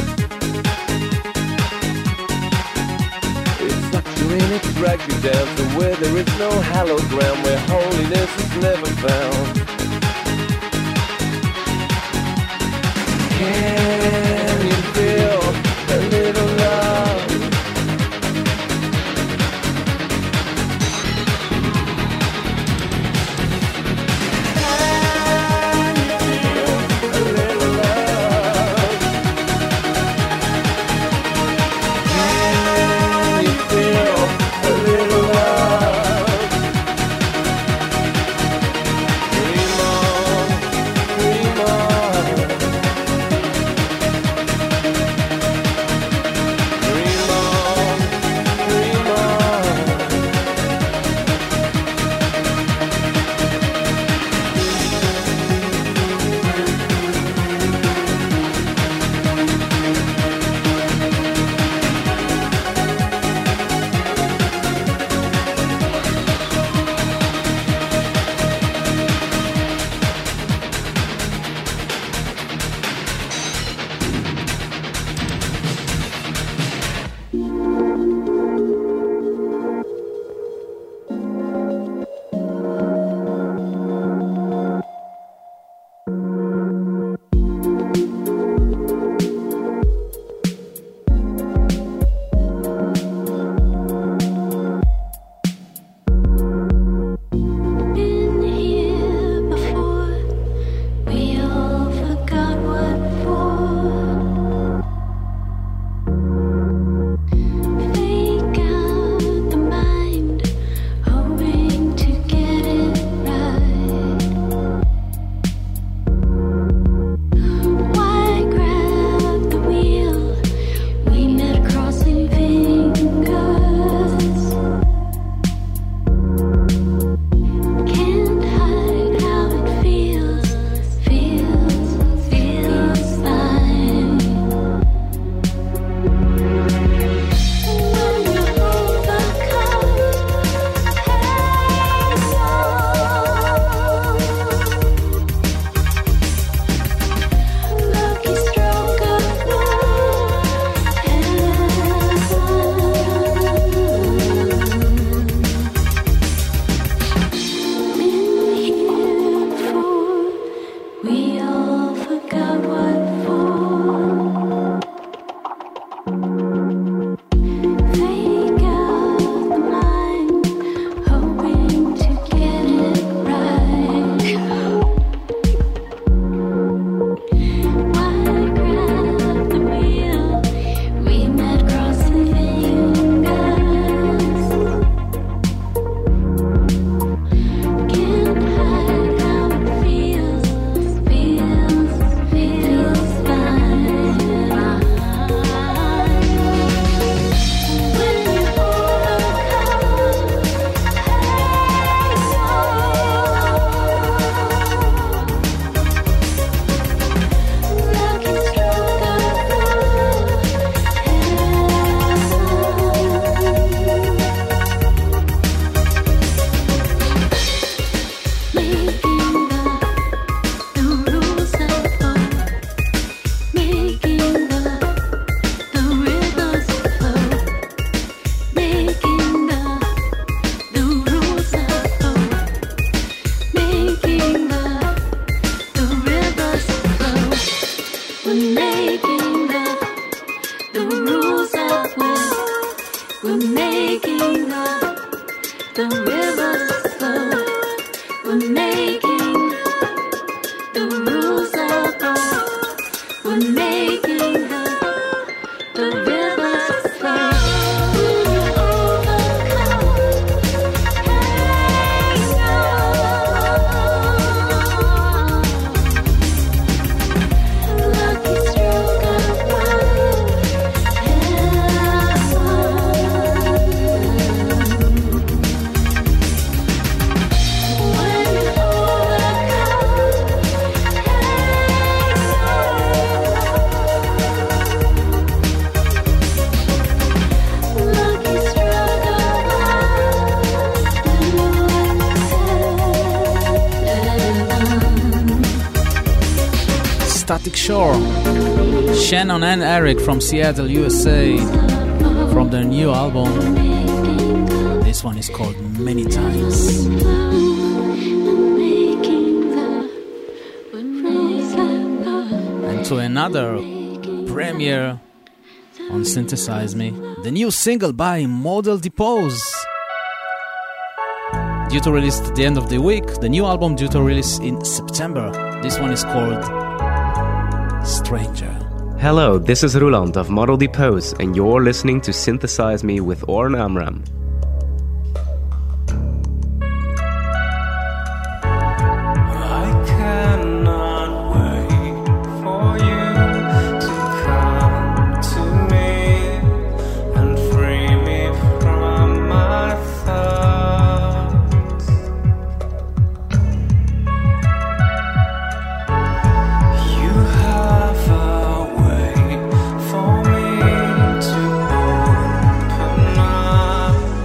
It sucks you in, it drags you down to where there is no hallowed ground, where holiness is never found. Can you feel a little love? Can making the, the rules of will. We're making the, the rivers flow. We're making the rules of will. We're making the, the rivers flow. Static Shore, Shannon and Eric from Seattle, U S A, from their new album. This one is called Many Times. And to another premiere on Synthesize Me, the new single by Model Depose. Due to release at the end of the week, the new album due to release in September. This one is called Stranger. Hello, this is Roland of Model Depose, and you're listening to Synthesize Me with Oren Amram. I cannot wait for you to come to me and free me from my thoughts. You have a way for me to open up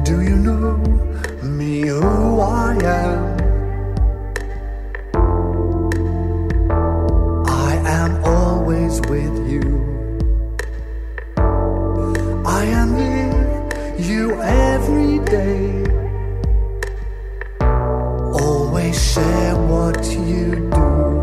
Do you know me, who I am? I am always with you. I am near you every day. Always share what you do.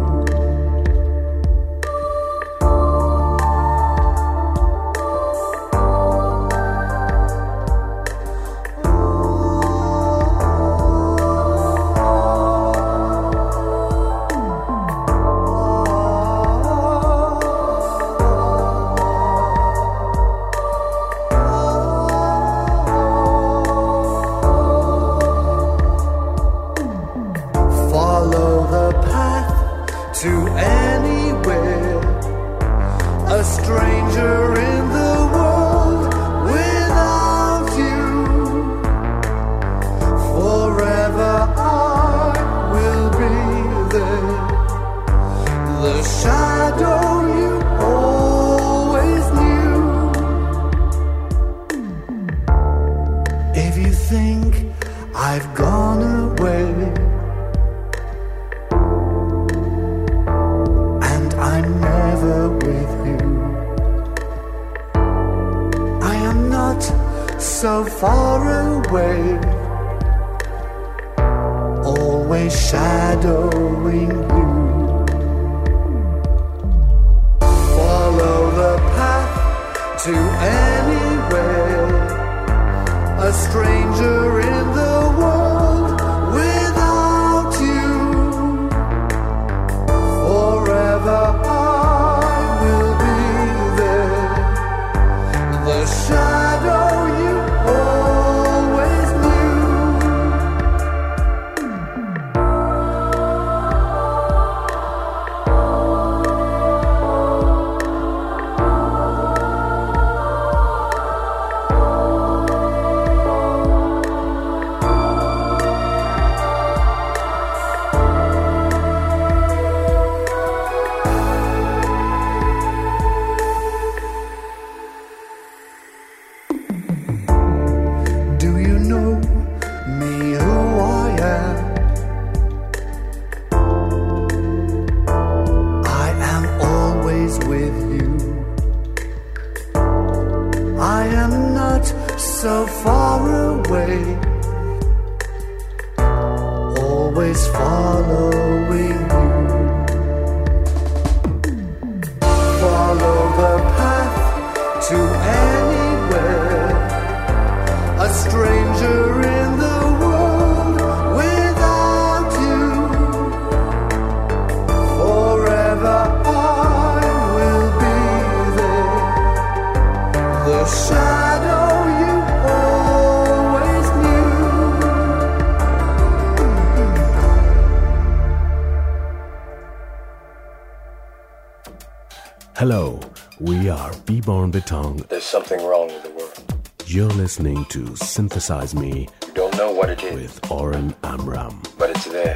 Hello, we are B-Born Betong. There's something wrong with the world. You're listening to Synthesize Me. You don't know what it is. With Oren Amram. But it's there.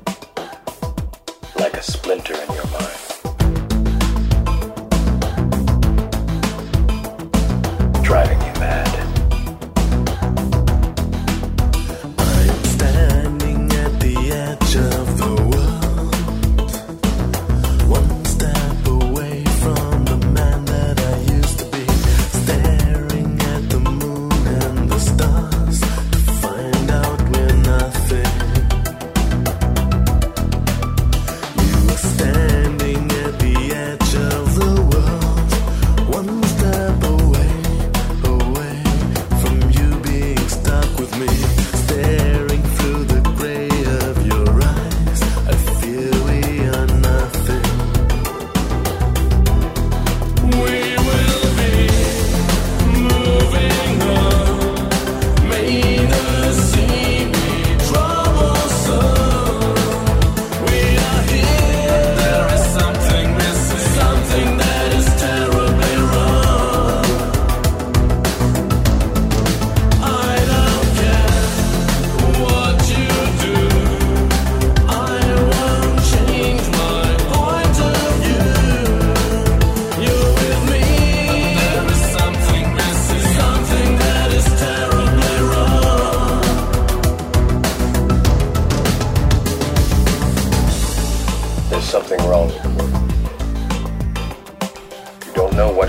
Like a splinter in your mind. Driving you mad. I am standing at the edge of the world. One step away from the man that I used to be. Staring at the moon and the stars to find out we're nothing. You are standing at the edge of the world. One step away,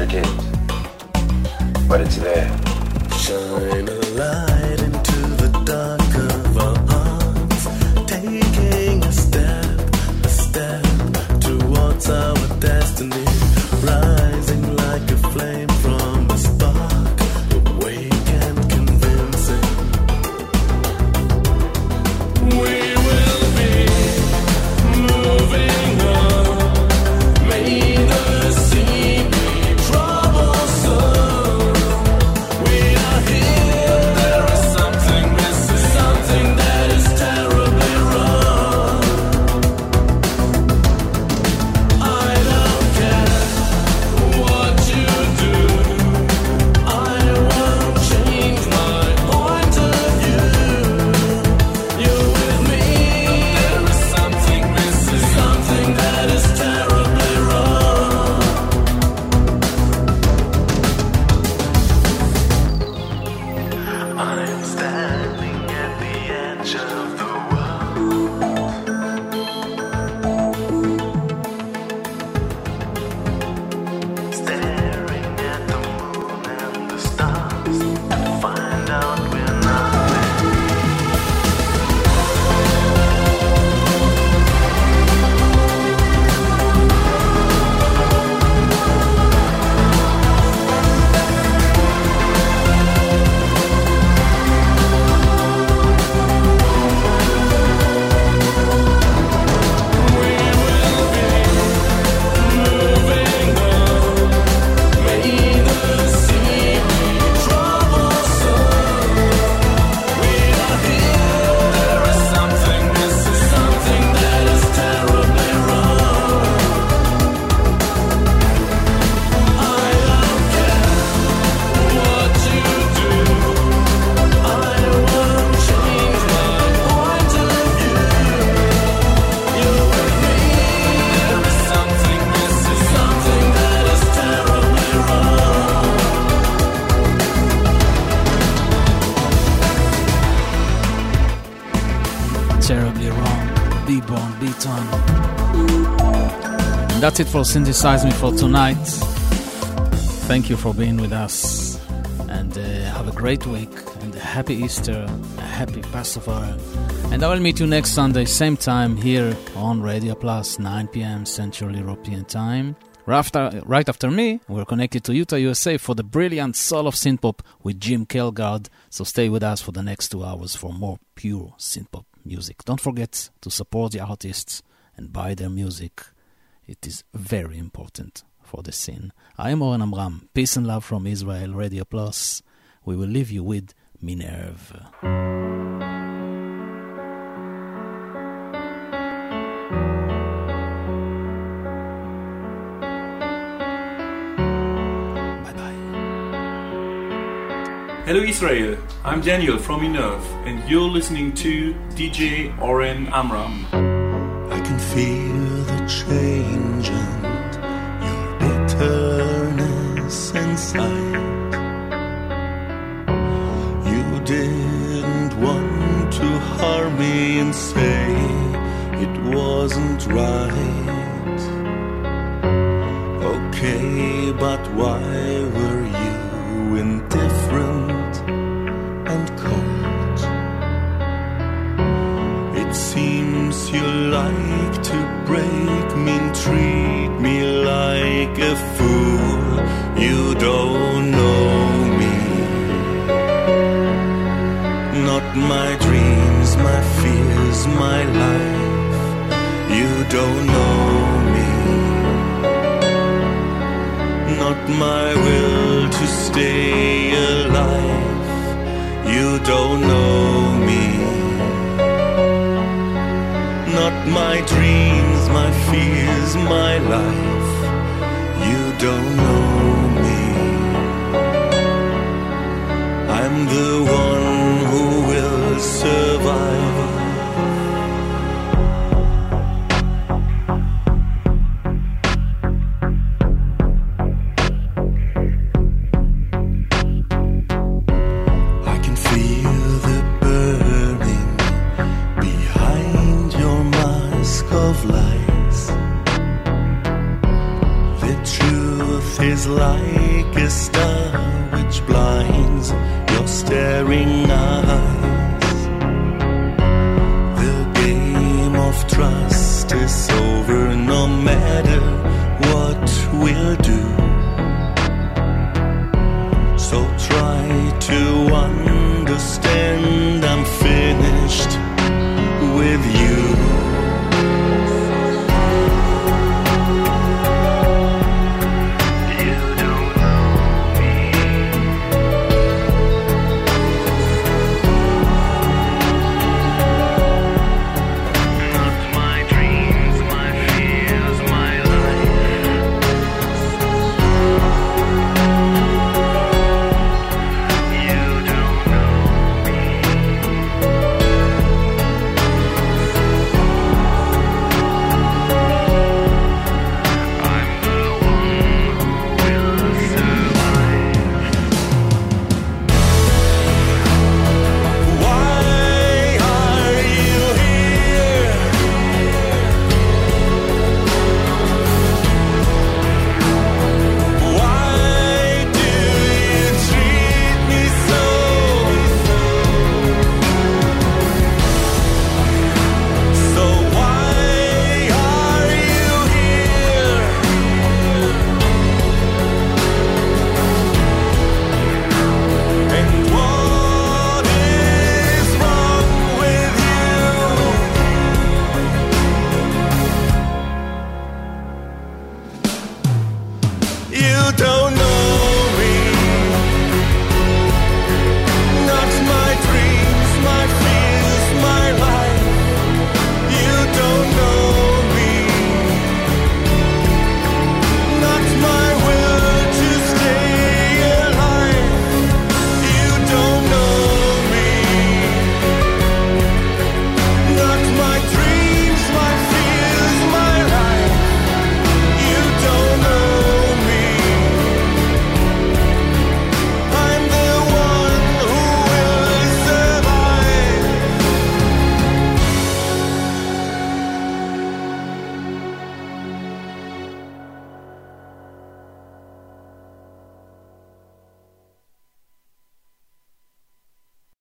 never did. But it's there. Shine a light into the dark of our hearts, taking a step, a step towards our destiny, rising like a flame from a spark, awake and convincing. We will be moving on, may the sea be troublesome. We are here, there is something missing, something that is terribly wrong. I don't care what you do, I won't change my point of view. You're with me, there is something missing, something that is terribly wrong. I'm standing at the edge of the world, staring at the moon and the stars to find out we're nothing. Moving on, may the sea be troublesome. We are here, there is something missing, something that is terribly wrong. I don't care what you do, I won't change my point of view. You're with me, there is something missing, something that is terribly wrong. Terribly wrong. Be born, be done. And that's it for Synthesize Me for tonight. Thank you for being with us. And uh, have a great week. And a happy Easter. A happy Passover. And I will meet you next Sunday, same time, here on Radio Plus, nine p.m. Central European Time. Right after, right after me, we're connected to Utah, U S A for the brilliant Soul of Synthpop with Jim Kelgard. So stay with us for the next two hours for more pure synthpop music. Don't forget to support the artists and buy their music. It is very important for the scene. I am Oren Amram. Peace and love from Israel, Radio Plus. We will leave you with Minerve. Hello Israel, I'm Daniel from Minerve and you're listening to D J Oren Amram. I can feel the change and your bitterness inside. You didn't want to harm me and say it wasn't right. Okay, but why were you indifferent and cold? It seems you like to break me and treat me like a fool. You don't know me. Not my dreams, my fears, my life. You don't know me. Not my will to stay alive. You don't know me. Not my dreams, my fears, my life. You don't know me. I'm the one who will survive. light.